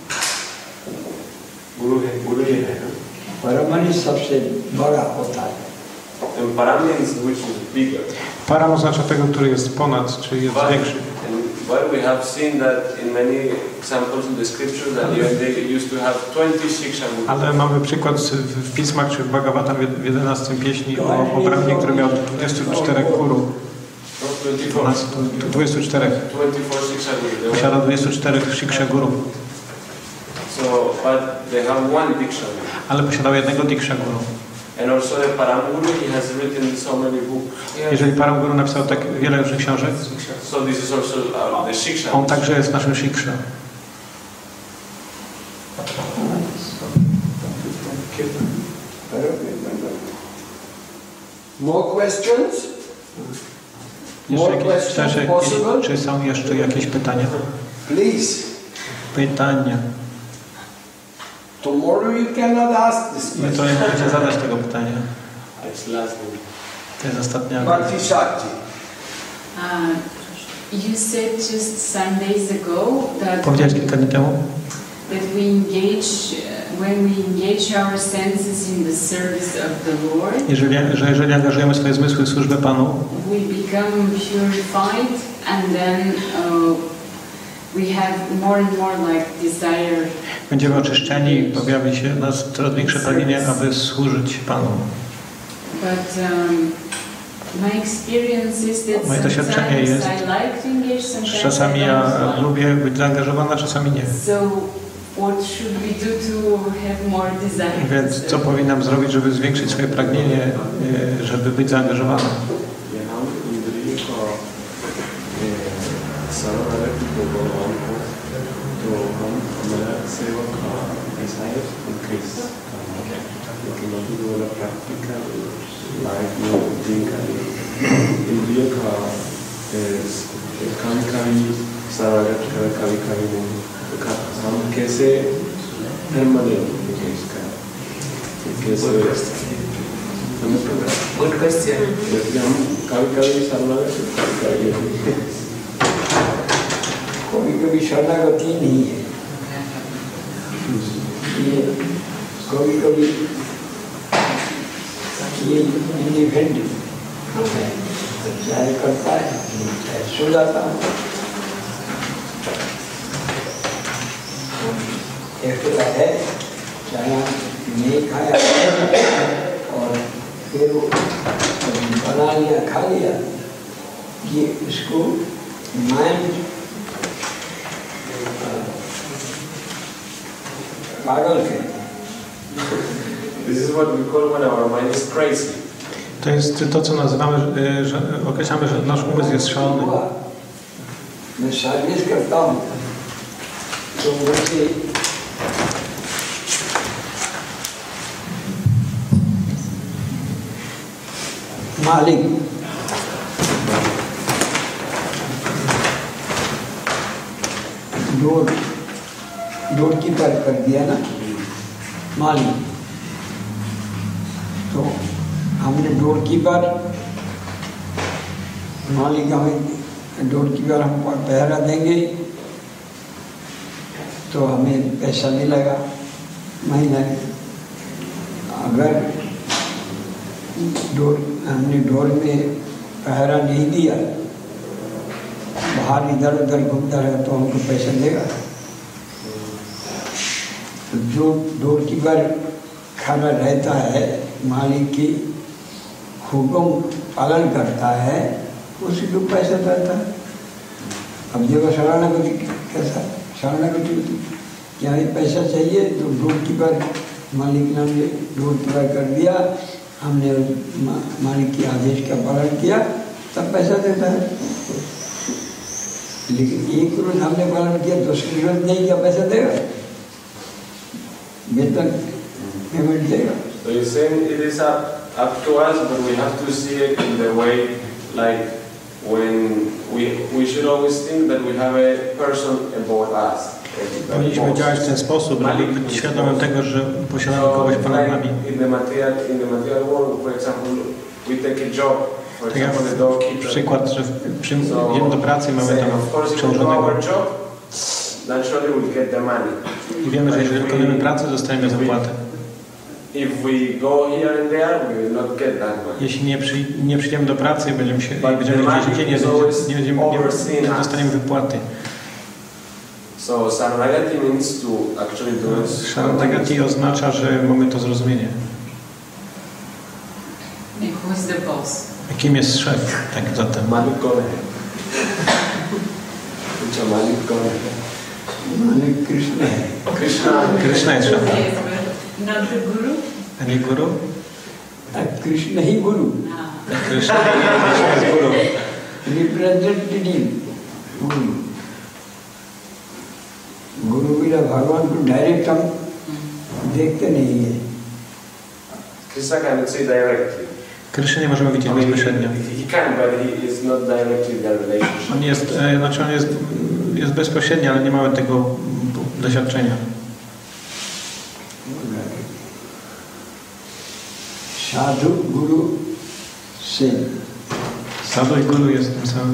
guru hai guru hi hai. Parmani सबसे बड़ा होता है And param means which is bigger. Param oznacza tego, który jest ponad, czy jest But, większy. and but we have seen that in many examples in the scriptures that even they used to have twenty shiksha gurus. Ale mamy przykład w, w pismach czy w Bhagavatam w jedenastym pieśni o, o Brahmie, który miał dwudziestu czterech guru. Not twenty-four. dwudziestu czterech. twenty-four shiksha gurus. Posiada dwudziestu czterech shiksha guru. So, but they have one diksha guru. Ale posiadał jednego diksha guru. And also the param guru, he has written so many books. Jeżeli Param Guru napisał tak wiele różnych książek, So this is also uh, the shiksha. on także jest naszym shiksha. More questions? More Jeszcze jakieś, questions jakieś, possible? czy są jeszcze jakieś pytania? Please. Pytania. Tomorrow you cannot ask this My to question. nie możecie zadać tego pytania. It's last one. To jest ostatnia. Bhakti Shakti. Uh, you said just some days ago that, Powiedziałeś kilka dni temu, that we engage, uh, when we engage our senses in the service of the Lord, jeżeli, że jeżeli angażujemy swoje zmysły w służbę Panu, we become purified and then uh, we have more and more like desire. będziemy oczyszczeni, pojawi się w nas coraz większe pragnienie, aby służyć Panu. But um, my experience is that Moje doświadczenie sometimes jest, I like to engage, sometimes że czasami I ja don't like. lubię być zaangażowana, czasami nie. So what should we do to have more desire? Więc co powinnam zrobić, żeby zwiększyć swoje pragnienie, e, żeby być zaangażowana? हम कैसे धर्म बदलेंगे इसका कैसे good question जैसे हम कभी कभी शरणागत कभी कभी कभी कभी शरणागति नहीं है ये कभी कभी ये इंडिपेंडेंट है चाहे करता है चाहे सो जाता है एक्स्ट्रा है चाहे नहीं खाया और फिर वो बना लिया खा लिया ये इसको माइंड पागल है. This is what we call when our mind is crazy. To jest to, co nazywamy, że określamy, że nasz umysł jest szalony. मैं सर्विस करता हूँ तो मुझे मालिक डोर डोर कीपर कर दिया ना मालिक, तो हमने डोर कीपर मालिक हमें डोर कीपर हम पहरा देंगे तो हमें पैसा मिलेगा महीने। अगर डोर हमने डोर में पहरा नहीं दिया, बाहर इधर उधर घूमता रहे तो हमको पैसा देगा। तो जो डोर कीपर खड़ा रहता है, मालिक की हुक्म पालन करता है, उसी को पैसा देता है। अब देखो शरणागति कैसा, शरणागति होती क्या ही पैसा चाहिए तो डोर कीपर मालिक ने हमने डोर कीपर कर दिया, हमने मालिक के आदेश का पालन किया तब पैसा देता है। लेकिन एक रोज हमने पालन किया, दूसरी रोज नहीं किया, पैसा देगा, वेतन पेमेंट देगा। So you're saying it is up, up to us, but we have to see it in the way, like when we we should always think that we have a person above us. Powinniśmy działać w ten sposób, być świadomym tego, że posiadamy kogoś ponad nami. In the material, in the material world, for example, we take a job. For Tak jak example, the doorkeeper. przykład, że przyjdziemy do pracy, mamy tam przełożonego naturally we'll get the money. i wiemy, że jeżeli wykonujemy pracę, dostajemy zapłatę. If we go here and there, we will not get that money. Jeśli nie, przy, nie przyjdziemy do pracy i będziemy, się, i będziemy gdzieś indziej, nie, nie, będziemy, nie, nie dostaniemy wypłaty. So Saranagati means to actually do it. Saranagati oznacza, że mamy to zrozumienie. Who is the boss? Kim jest szef? Tak zatem. Malik Gone. Malik Gone. Malik Krishna. Krishna. Krishna jest szefem. Yes, but not the guru? A nie guru? Tak, Krishna he Guru, Ah. Krishna jest guru. Representative गुरु। गुरु बिना भगवान को डायरेक्ट हम देखते नहीं है। Krishna cannot say directly. Krishna nie możemy widzieć bezpośrednio. He can, but he is not directly in their relationship. On jest, e, znaczy on jest, jest bezpośredni, ale nie mamy tego doświadczenia. साधु गुरु से Sadhu i guru jest tym samym.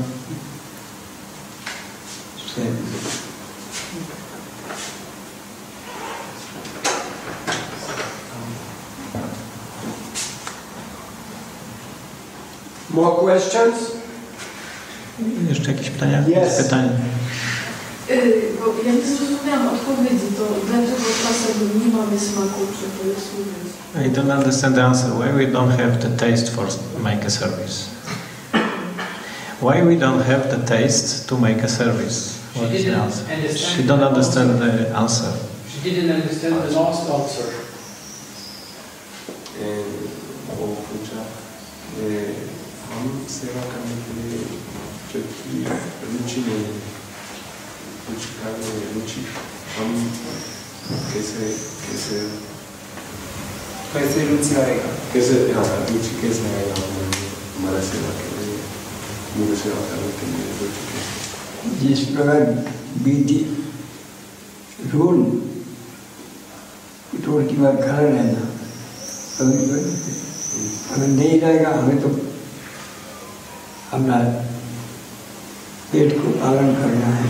More questions? Jeszcze jakieś pytania? Yes. Pytanie. Bo ja nie zrozumiałam odpowiedzi, to dlaczego czasem nie mamy smaku przy tej służbie? I don't understand the answer. Why we don't have the taste for make a service? Why we don't have the taste to make a service? What is the answer? She don't understand the answer. She didn't understand the last answer. वो पूछा हम सेवा करने के लिए जो रुचि नहीं है, कुछ करने में रुचि हम कैसे कैसे कैसे रुचि आएगा, कैसे हाँ रुचि कैसे आएगा हमारा सेवा के लिए, मुझे सेवा करने के लिए रुचि कैसे। जिस प्रकार बीती रूल रोड की बात खड़ा रहना, अगर नहीं रहेगा हमें तो अपना पेट को पालन करना है,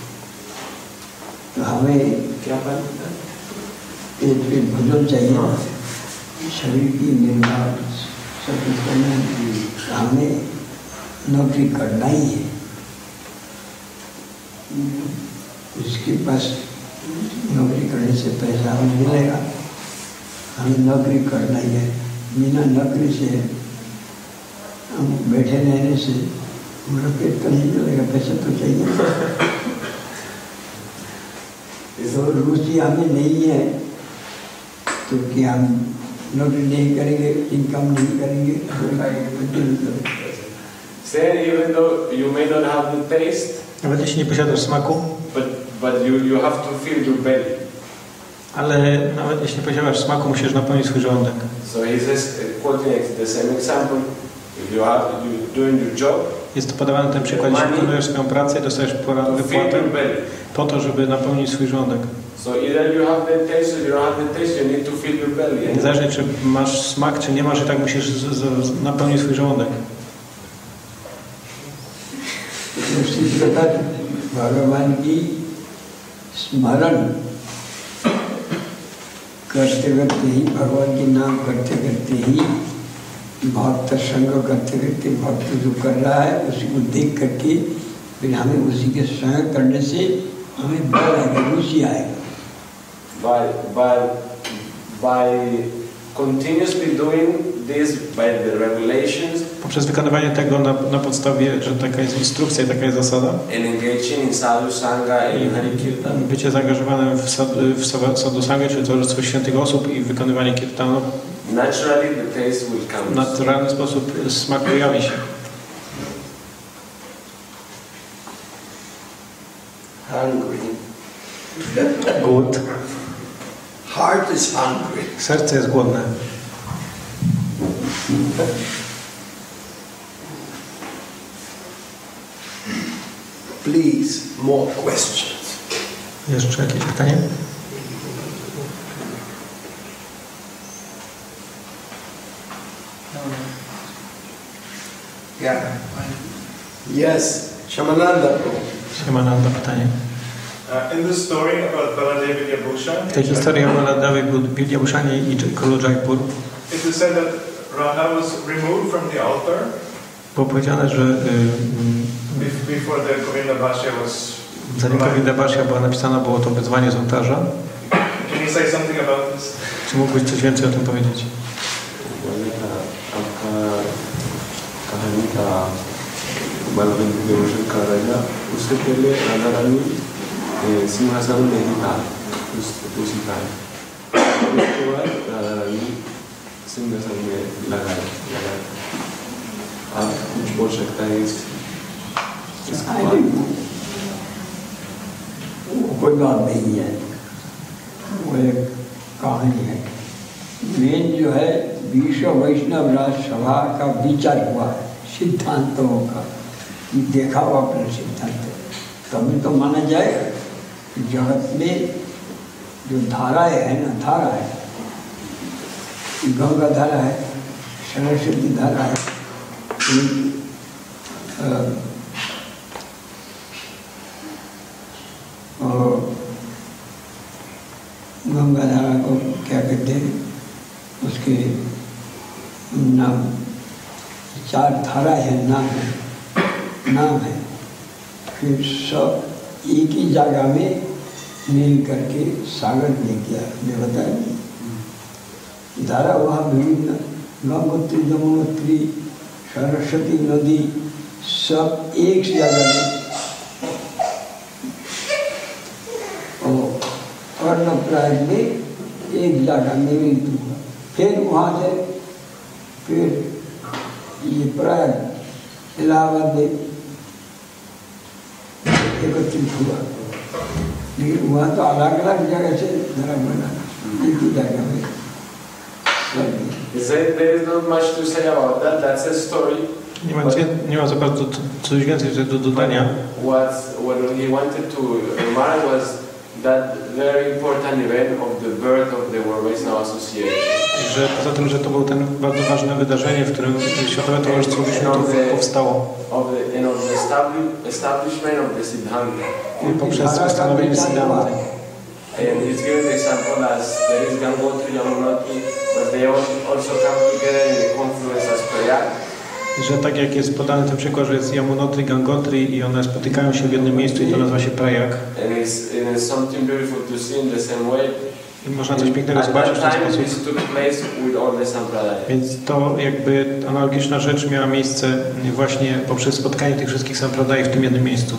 तो हमें क्या पालन पेट पेट भोजन चाहिए, शरीर की निर्वाह सब कुछ करना है, तो हमें नौकरी करना ही है। इसके पास नौकरी करने से पैसा हमें मिलेगा, हमें नौकरी करना ही है। बिना नौकरी से हम बैठे रहने से हमारा पेट तो नहीं चलेगा, पैसा तो चाहिए। तो रुचि हमें नहीं है तो क्या हम नौकरी नहीं करेंगे, इनकम नहीं करेंगे, Say even though you may not have the taste, Nawet jeśli nie posiadasz smaku, but but you you have to fill your belly. ale nawet jeśli nie posiadasz smaku, musisz napełnić swój żołądek. So he says, quoting the same example, if you are you doing your job, Jest to podawany ten przykład, jeśli wykonujesz swoją pracę i dostajesz wypłatę po to, żeby napełnić swój żołądek. So either you have the taste or you don't have the taste, you need to fill your belly. Niezależnie czy masz smak, czy nie masz, i tak musisz z, z, napełnić swój żołądek. उसी प्रकार भगवान की स्मरण करते करते ही भगवान के नाम करते करते ही भक्त संग करते करते भक्त जो कर रहा है उसी को देख करके फिर हमें उसी के संग करने से हमें बल आएगा, रुचि आएगा. By by by continuously doing this by the regulations. Poprzez wykonywanie tego na, na podstawie, że taka jest instrukcja, taka jest zasada. And engaging in sadhu sangha and hari kirtan. Bycie zaangażowanym w, sad, w sadhu sangha, czyli towarzystwo świętych osób i wykonywanie kirtanu. Naturally the taste will come. W naturalny sposób smak pojawi się. Hungry. Głód. Heart is hungry. Serce jest głodne. Please, more questions. Jeszcze jakieś pytanie? Yeah. Yes, Shamananda. Siemananda, pytanie. Uh, in the story about Baladev Vidyabhushan, W tej historii o Baladevi Vidyabhushanie i królu Jaipur it is said that Radha was removed from the altar było powiedziane, że y, bef- before the Govinda Bhashya was. zanim Govinda Bhashya była napisana, było to wyzwanie z ołtarza. Can you say something about this? Czy mógłbyś coś więcej o tym powiedzieć? कहानी का बलवंत विभूषण का राजा उससे पहले राधा रानी सिंहासन नहीं था उस उसी का उसके बाद राधा रानी सिंहासन में लगा लगा आप कुछ बोल सकता है इस कोई बात नहीं है, वो एक कहानी है. मेन जो है विश्व वैष्णव राजसभा का विचार हुआ है सिद्धांतों का, देखा हुआ अपना सिद्धांत, तभी तो माना जाएगा कि जगत में जो धाराएं है ना, धारा है, गंगा धारा है, सरस्वती धारा है, और गंगा धारा को क्या कहते हैं, उसके नाम चार धारा है, नाम है नाम है फिर सब एक ही जगह में मिल करके सागर ले गया. मैं बताया धारा वहाँ विभिन्न गंगोत्री यमुनोत्री सरस्वती नदी सब एक जगह में और कर्णप्रयाग में एक जगह में मिलित हुआ. फिर वहाँ से फिर ये प्रयाग इलाहाबाद में एकत्रित हुआ, लेकिन वहाँ तो अलग अलग जगह से धरा बना, एक ही जगह में. There is not much to say about that. That's a story. Nie ma, nie ma za bardzo coś więcej do dodania. What what he wanted to remark was that very important event of the birth of the World Vaishnava Association. Że poza tym, że to było ten bardzo ważne wydarzenie, w którym Światowe Towarzystwo Wyświętów powstało. Of the, and of the establishment of the Siddhanta. Poprzez ustanowienie Siddhanty. And he's given the example as there is Gangotri, Yamunotri, but they also come together in the confluence as Prayag. Że tak jak jest podany ten przykład, że jest Yamunotri, Gangotri i one spotykają się w jednym miejscu i to nazywa się Prayag. And it's, and it's something beautiful to see in the same way. I można coś pięknego zobaczyć w ten sposób. Więc to jakby analogiczna rzecz miała miejsce właśnie poprzez spotkanie tych wszystkich sampradaj w tym jednym miejscu.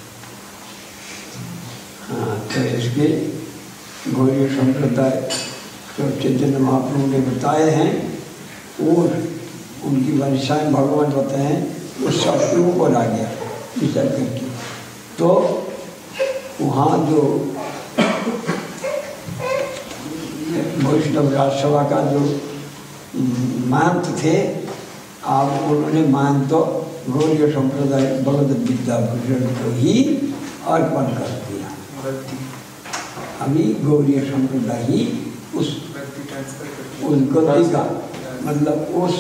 तो इसके गौरी संप्रदाय जो चैतन्य महाप्रभु ने बताए हैं और उनकी वर्षाएं भगवान बताए हैं वो सबके ऊपर आ गया विचार करके. तो वहाँ जो वैष्णव राजसभा का जो महंत थे, अब उन्होंने महंत गौड़ीय संप्रदाय भगवद विद्या भूषण को ही अर्पण कर दिया। अभी गौड़ीय संप्रदाय ही उस उस गति का मतलब उस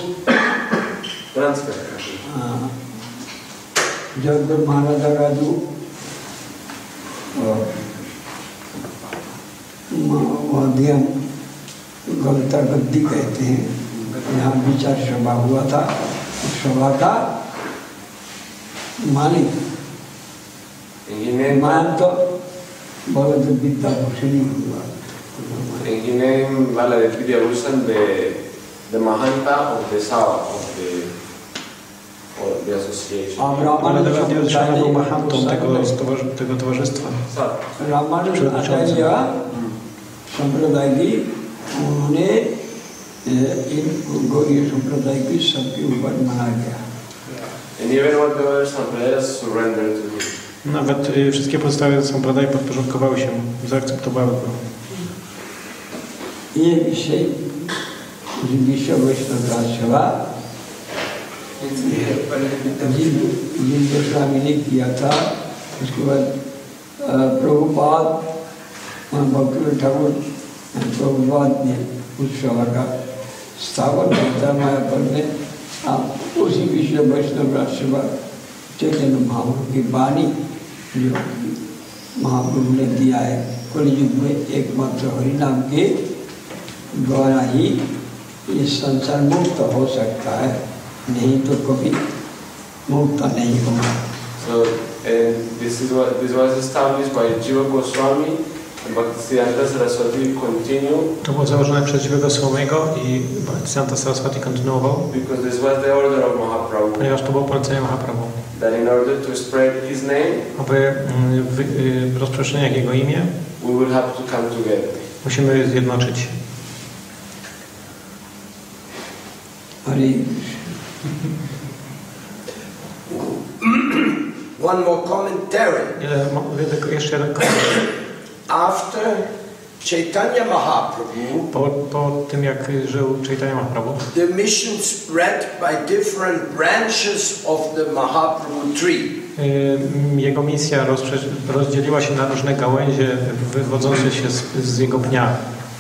जगदुर महाराजा का जो मध्यम गलता गद्दी कहते हैं, यहाँ विचार सभा हुआ था, उस सभा का मालिक मान तो बहुत विद्या भूषण ही हुआ। Enginem vale de Vidya Bhushan de the Mahanta of the South of the of the association. Ramanujacharya był mahantą tego, tego towarzystwa. Ramanujacharya संप्रदाय की उन्होंने इन गौड़ीय संप्रदाय की सबके ऊपर मना गया। And even what the other sampradayas surrendered to him. Nawet y, wszystkie pozostałe sampradaje podporządkowały się, zaakceptowały go. ये विषय विश्व वैष्णव सेवा जिन गोस्वामी ने किया था, उसके बाद प्रभुपाद भक्ति ठाकुर प्रभुपाद ने उस सभा का स्थापन किया था मायापुर में। उसी विश्व वैष्णव सेवा चैतन्य महाप्रभु की वाणी जो महाप्रभु ने दिया है, कलियुग में एकमात्र हरिनाम के द्वारा ही ये संसार मुक्त हो सकता है, नहीं तो कभी मुक्त नहीं होगा। So and this is what this was established by Jiva Goswami and Bhaktisiddhanta Saraswati continue. To było założone przez Jiva Goswamiego i Bhaktisiddhanta Saraswati kontynuował. Because this was the order of Mahaprabhu. Ponieważ to było polecenie Mahaprabhu. That in order to spread his name, aby rozprzestrzeniać jego imię, we will have to come together. Musimy zjednoczyć. One more commentary. Jeszcze jeden komentarz. After Chaitanya Mahaprabhu, po, po tym jak żył Chaitanya Mahaprabhu, the mission spread by different branches of the Mahaprabhu tree. Jego misja rozdzieliła się na różne gałęzie wywodzące się z, z jego pnia.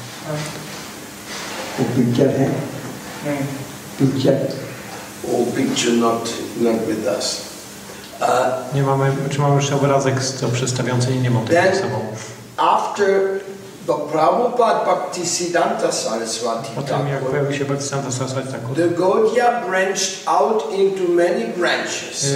Picture. Oh, picture not, not with us. Uh, nie mamy, czy mamy jeszcze obrazek z to przedstawiający? Nie, nie mam tego ze sobą. After the Prabhupada Bhaktisiddhanta Saraswati Potem jak pojawił się Bhaktisiddhanta Saraswati Thakur, the Gaudiya branched out into many branches.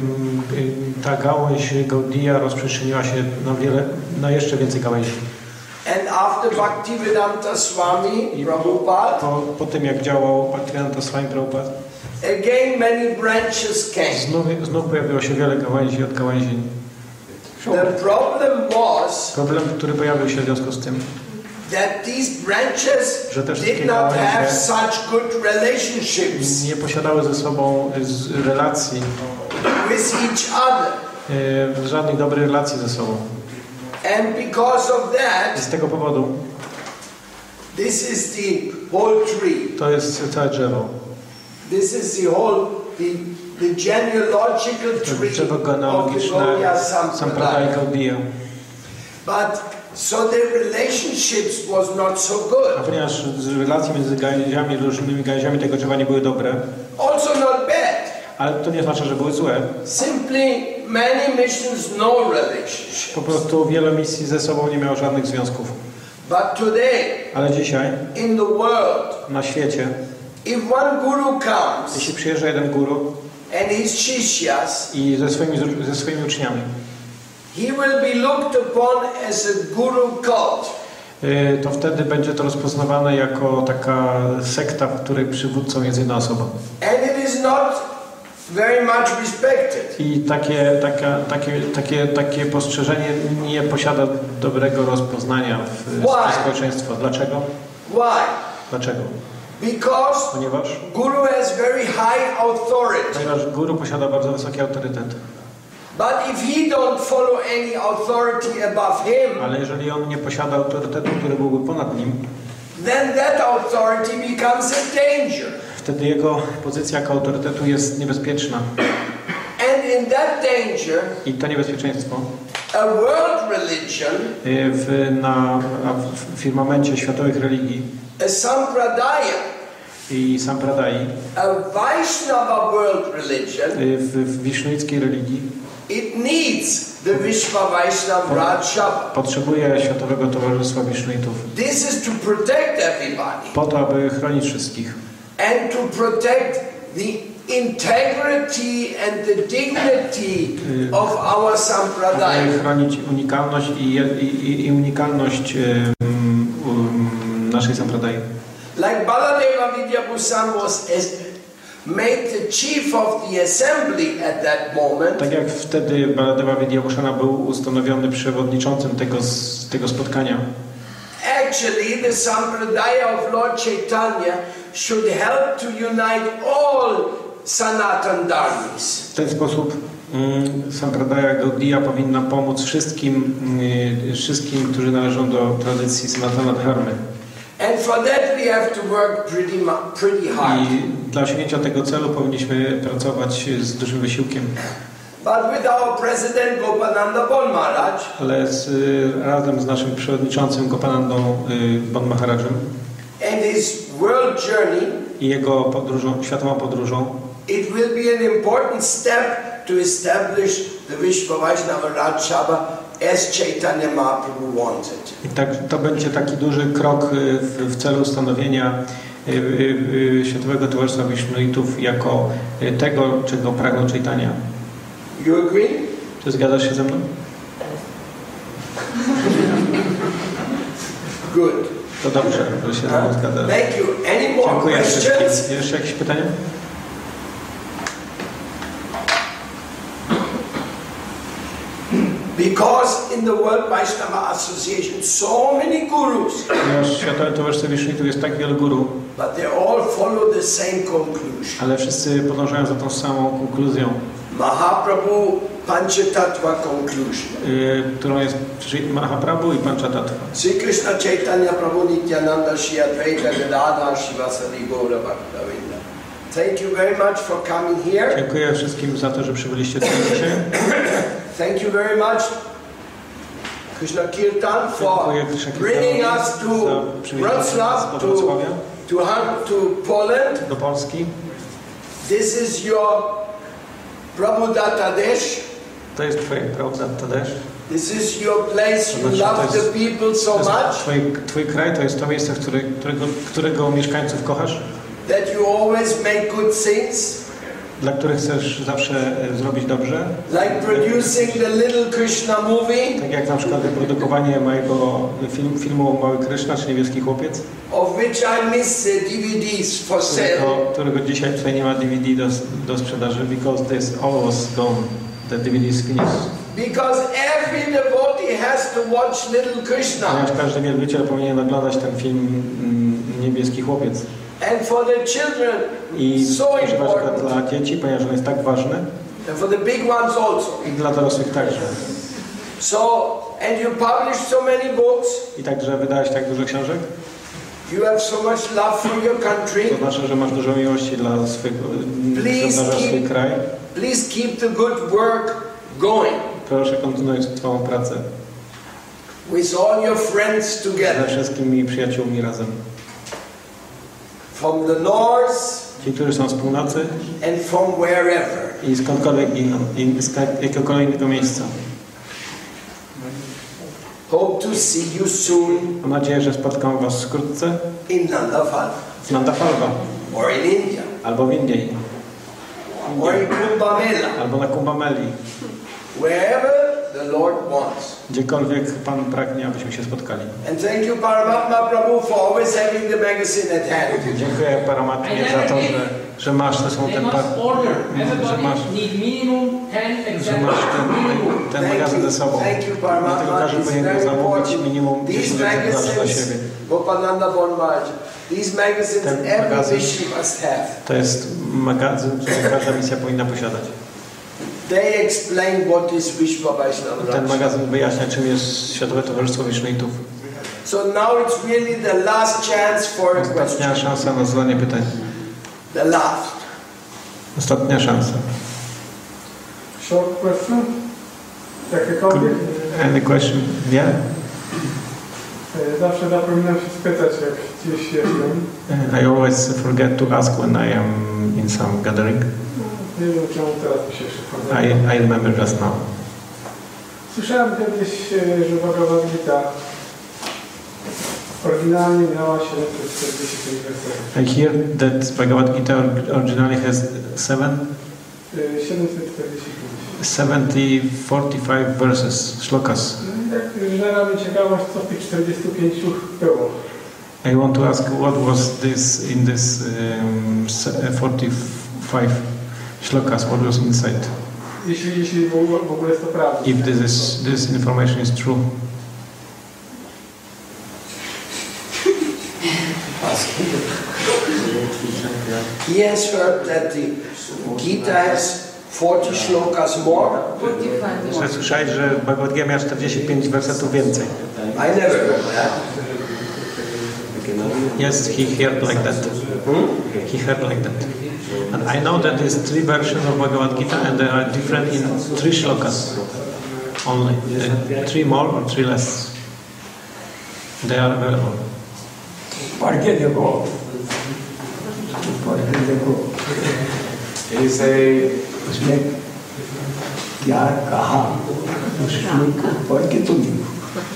Ta gałąź Gaudiya rozprzestrzeniła się na wiele, na jeszcze więcej gałęzi. And after Bhaktivedanta Swami Prabhupada, po, po tym jak działał Bhaktivedanta Swami Prabhupada, again many branches came. Znów, znów pojawiło się wiele gałęzi od gałęzi. The problem was, problem, który pojawił się w związku z tym, that these branches że te did not have such good relationships nie posiadały ze sobą relacji with each other. Żadnych dobrych relacji ze sobą. And because of that, I z tego powodu this is the whole tree. To jest całe drzewo. This is the whole the, the genealogical tree drzewo genealogiczne Sampradaya Gaudiya. But so their relationships was not so good. A ponieważ relacje między gałęziami, różnymi gałęziami tego drzewa nie były dobre. Also not bad. Ale to nie znaczy, że były złe. Simply many missions no relationship. Po prostu wiele misji ze sobą nie miało żadnych związków. But today, ale dzisiaj in the world, na świecie, if one guru comes, jeśli przyjeżdża jeden guru and his shishyas, i ze swoimi, ze swoimi uczniami, he will be looked upon as a guru cult. To wtedy będzie to rozpoznawane jako taka sekta, w której przywódcą jest jedna osoba. And it is not very much respected. I takie, taka, takie, takie, takie postrzeżenie nie posiada dobrego rozpoznania w, w społeczeństwie. Dlaczego? Why? Dlaczego? Because Ponieważ guru has very high authority. Ponieważ guru posiada bardzo wysoki autorytet. But if he don't follow any authority above him, ale jeżeli on nie posiada autorytetu, który byłby ponad nim, then that authority becomes a danger. Wtedy jego pozycja jako autorytetu jest niebezpieczna. in that danger, I to niebezpieczeństwo a world religion, y, w, na, w firmamencie światowych religii a sampradaya, i sampradai, a Vaishnava world religion, y, w, w wisznuickiej religii it needs the Vishva Vaishnava Raj Sabha. potrzebuje Światowego Towarzystwa Wisznuitów This is to protect everybody po to, aby chronić wszystkich and to protect the integrity and the dignity of our aby sampradaya. chronić unikalność i, i, i unikalność um, um, naszej sampradai. Like Baladeva Vidyabhushan was as, made the chief of the assembly at that moment, Tak jak wtedy Baladeva Vidyabhushana był ustanowiony przewodniczącym tego, tego spotkania, actually the sampradaya of Lord Chaitanya should help to unite all Sanatan Dharmis. w ten sposób um, Sampradaya Gaudiya powinna pomóc wszystkim, um, wszystkim, którzy należą do tradycji Sanatana Dharmy. And for that we have to work pretty, pretty hard. I dla osiągnięcia tego celu powinniśmy pracować z dużym wysiłkiem. But with our president Gopananda Bon Maharaj, Ale z, razem z naszym przewodniczącym Gopanandą y, Bon Maharajem and his world journey, i jego podróżą, światową podróżą, it will be an important step to establish the Vishva Vaishnava Raj Sabha as Chaitanya Mahaprabhu wanted. i tak, to będzie taki duży krok y, w, w celu ustanowienia y, y, y, Światowego Towarzystwa Wisznuitów jako y, tego, czego pragnął Chaitanya. You agree? Czy zgadzasz się ze mną? Good. To dobrze, że się ze mną zgadzasz. Thank you. Any more Dziękuję questions? wszystkim. Jeszcze jakieś pytania? Because in the World Vaishnava Association, so many gurus, Ponieważ w Światowym Towarzystwie Wisznuitów jest tak wielu guru, but they all follow the same conclusion. ale wszyscy podążają za tą samą konkluzją, Mahaprabhu Panchatattva conclusion. y, którą jest Sri Mahaprabhu i Panchatattva. Sri Krishna Chaitanya Prabhu Nityananda Shri Advaita Gadadhar Shivasadi Gaura Bhaktavinda. Thank you very much for coming here. Dziękuję wszystkim za to, że przybyliście tutaj dzisiaj. Thank you very much, Krishna Kirtan, for Dziękuję Krishna bringing us Kirtanowi to za przywiezienie nas Wrocław, do to, Wrocławia, to, Hun- to Poland. do Polski. This is your Prabhudatta Desh. To jest Twoje Prabhudatta Desh. This is your place. To You znaczy, love to the jest- people so To jest much twój, twój kraj, to jest to miejsce, w której, którego, którego mieszkańców kochasz, that you always make good things, dla których chcesz zawsze e, zrobić dobrze. like producing the Little Krishna movie, Tak jak na przykład wyprodukowanie mojego film, filmu Mały Kryszna, czy Niebieski Chłopiec, of which I miss the D V Ds for sale. którego, którego dzisiaj tutaj nie ma D V D do, do sprzedaży, because this all was gone, the D V D is finished. Because every devotee has to watch Little Krishna. Ponieważ każdy wielbiciel powinien oglądać ten film mm, Niebieski Chłopiec. And for the children, I so używać go important. dla dzieci, ponieważ on jest tak ważny, And for the big ones also. i dla dorosłych także. So, and you publish so many books, I także wydałeś tak dużo książek, you have so much love for your country. to znaczy, że masz dużo miłości dla swojego, Please dla swój keep- kraj. Please keep the good work going Proszę kontynuować Twoją pracę with all your friends ze together. wszystkimi przyjaciółmi razem. From the north Ci, którzy są z północy and from wherever. i skądkolwiek inną, i z jakiegokolwiek innego miejsca. Hope to see you soon Mam nadzieję, że spotkam Was wkrótce in Nandafal w Nandafalva, or in India albo w Indii, or in Kumbh Mela, albo na Kumbh Meli, wherever the Lord wants. gdziekolwiek Pan pragnie, abyśmy się spotkali. And thank you, Paramatma Prabhu, for always having the magazine at hand. Dziękuję Paramatmie za to, że, że masz te są They ten, must par- order. że masz, Everybody need minimum ten że masz exemplars. Minimum. ten, ten magazyn ze sobą. Thank you, Dlatego Paramatma. każdy It's powinien go very zamówić important. minimum These dziesięć egzemplarzy dla magazines, siebie. Gopananda Bon Maharaj, these magazines Ten every magazyn- Rishi must have. To jest magazyn, który każda misja powinna posiadać. They explain what is Vishva Vaishnava Ten Raj. magazyn wyjaśnia, czym jest Światowe Towarzystwo Wisznuitów. So now it's really the last chance for a question. Ostatnia szansa na zadanie pytań. The last. Ostatnia szansa. Short question? Jakiekolwiek? Any question? Yeah? Zawsze zapominam się spytać, jak gdzieś jestem. I always forget to ask when I am in some gathering. Nie wiem, czemu teraz mi się przypomniało. I, I remember just now. Słyszałem kiedyś, że Bhagavad Gita oryginalnie miała siedemset czterdzieści pięć wersetów. I hear that Bhagavad Gita originally has seven, siedemset czterdzieści pięć. seventy, forty-five verses, shlokas. Tak, żera mnie ciekawość, co w tych czterdziestu pięciu było. I want to ask what was this in this um, forty-five shlokas, what was inside? Jeśli, jeśli w ogóle jest to prawda. If this is this information is true. He has heard that the Gita has forty shlokas more. Że słyszałeś, że Bhagavad Gita miała czterdzieści pięć wersetów więcej. I never heard that. Yes, he heard like that. Hmm? He heard like that. And I know that there's three versions of Bhagavad Gita and they are different in three shlokas only. Uh, three more or three less. They are available. पढ़ के देखो पढ़ के देखो He say, उसने क्या कहा उस श्लोक को पढ़ के तो देखो.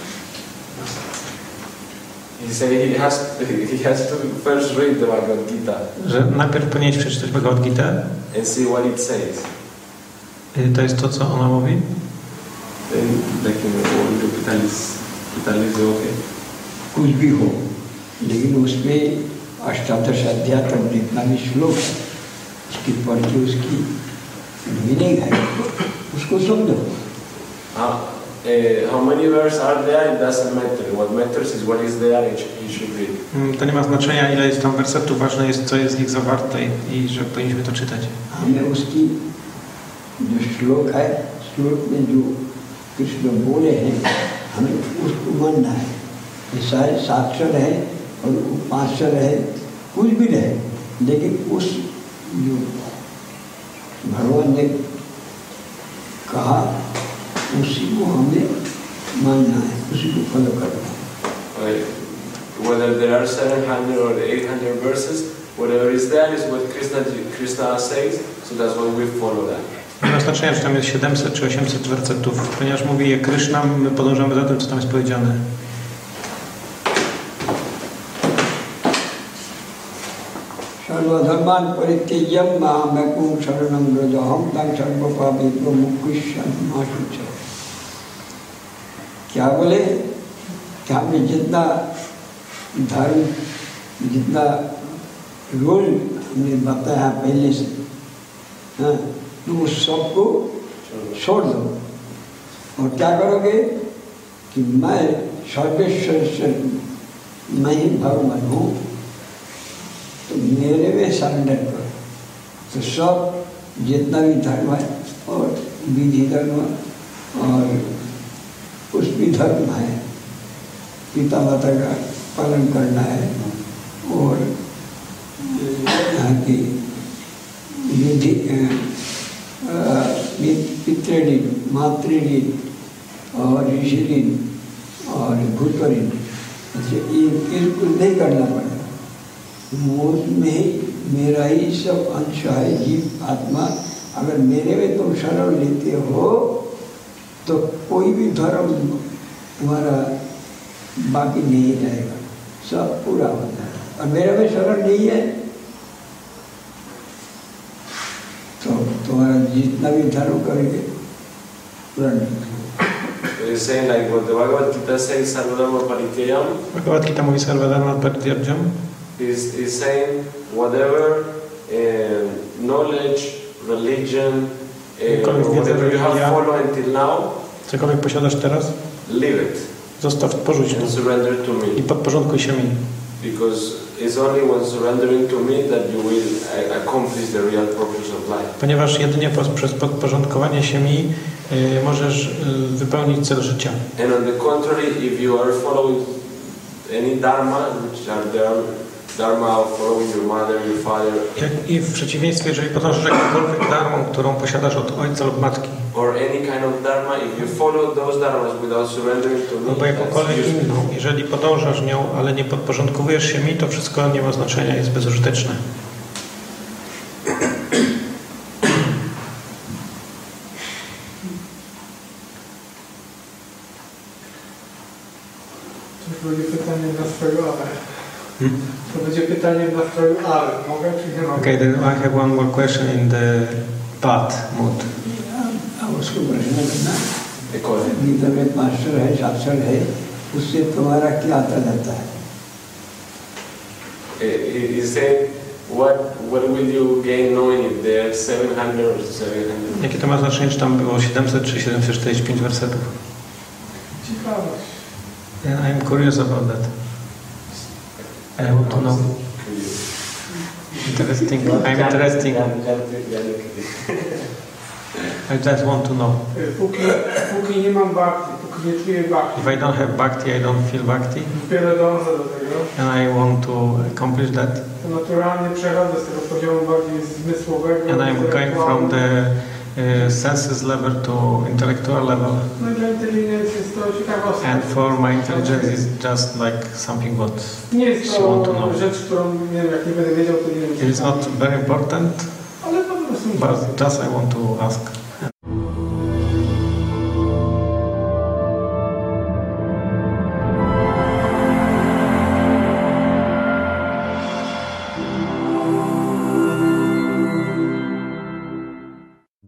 he say he has he has to first read the Bhagavad Gita Że najpierw powinieneś przeczytać Bhagavad Gita. and see what it says. Y, To jest to, co ona mówi. Then like in the capital is capital is okay. कुछ भी हो लेकिन उसमें अष्टादश अध्याय तक जितना भी श्लोक है उसकी पढ़ के उसकी मीनिंग है उसको समझो. Uh, uh, how many verses are there? It doesn't matter. What matters is what is there. It should, it should read. Mm, To nie ma znaczenia, ile jest tam wersetów, ważne jest, co jest w nich zawarte i że powinniśmy to czytać. हमें उसकी जो श्लोक है श्लोक में जो कृष्ण बोले हैं हमें उसको मानना है. ये सारे साक्षर है और उपाक्षर है कुछ भी रहे लेकिन उस जो भगवान ने कहा उसी को हमें मानना है, उसी को फॉलो करना है. Whether there are seven hundred or eight hundred verses, whatever is there is what Krishna Krishna says. So that's what we follow that. Nie ma znaczenia, czy tam jest siedemset czy osiemset wersetów, ponieważ mówi je Kryszna, my podążamy za tym, co tam jest powiedziane. सर्वधर्मान परित्यज्य मामेकं शरणं व्रज अहं तं सर्वपापेभ्यो मुक्तिश्यमाशुच. क्या बोले कि हमें जितना धर्म जितना रोल हमने बताया पहले से, हाँ, तो उस सबको छोड़ दो और क्या करोगे कि मैं सर्वेश्वर से मैं ही भगवान हूँ तो मेरे में सरेंडर करो. तो सब जितना भी धर्म है और विधि धर्म और कुछ भी धर्म है पिता माता का पालन करना है और यहाँ की विधि पितृऋण मातृऋण और ऋषि ऋण और भूत ऋण ये कुछ नहीं करना पड़ेगा. मुझ में ही मेरा ही सब अंश है जीव आत्मा. अगर मेरे में तुम शरण लेते हो तो कोई भी धर्म तुम्हारा बाकी नहीं रहेगा, सब पूरा हो जाएगा. और मेरे में शरण नहीं है तो तुम्हारा जितना भी धर्म करेंगे पूरा नहीं. He's saying like what the Bhagavad Gita says, Sarvadharma Parityayam. Bhagavad Gita mówi Sarvadharma Parityajam. Is is saying whatever uh, knowledge, religion, uh, whatever you have followed until now, cokolwiek posiadasz teraz, leave it. Zostaw, porzuć to and surrender to me. I podporządkuj się mi. Because it's only when surrendering to me that you will accomplish the real purpose of life. Ponieważ jedynie przez podporządkowanie się mi y, możesz y, wypełnić cel życia. And on the contrary, if you are following any dharma, which are there, dharma of following your mother, your father. Jak, I w przeciwieństwie, jeżeli podążasz jakąkolwiek dharmą, którą posiadasz od ojca lub matki. or any kind of dharma, if you follow those dharmas without surrendering to me, Albo jakąkolwiek that's useless. inną. Jeżeli podążasz nią, ale nie podporządkowujesz się mi, to wszystko nie ma znaczenia, jest bezużyteczne. To będzie pytanie w nastroju ale. Hmm? To będzie pytanie w nastroju ale. Mogę czy nie mogę? Okay, then I have one more question in the bad mood. अब उसको प्रश्न करना They call it. Gita में मास्टर है शास्त्र है उससे तुम्हारा क्या आता जाता है He he said, what what will you gain knowing if there are seven hundred or seven hundred? Jakie to ma znaczenie, czy tam było siedemset czy siedemset czterdzieści pięć wersetów? Ciekawość. Yeah, I'm curious about that. I want to know. Interesting. I'm interesting. I just want to know. Póki, póki nie mam bhakti, póki nie czuję bhakti, If I don't have bhakti, I don't feel bhakti, dopiero dążę do tego, and I want to accomplish that. to naturalnie przechodzę z tego poziomu bardziej zmysłowego, And I'm going from the uh, senses level to intellectual level. No i dla inteligencji jest to ciekawostka. And for my intelligence is just like something what Nie jest she want to to know. rzecz, którą nie wiem, jak nie będę wiedział, to nie wiem. It is not very important, Ale po prostu but just I want to ask.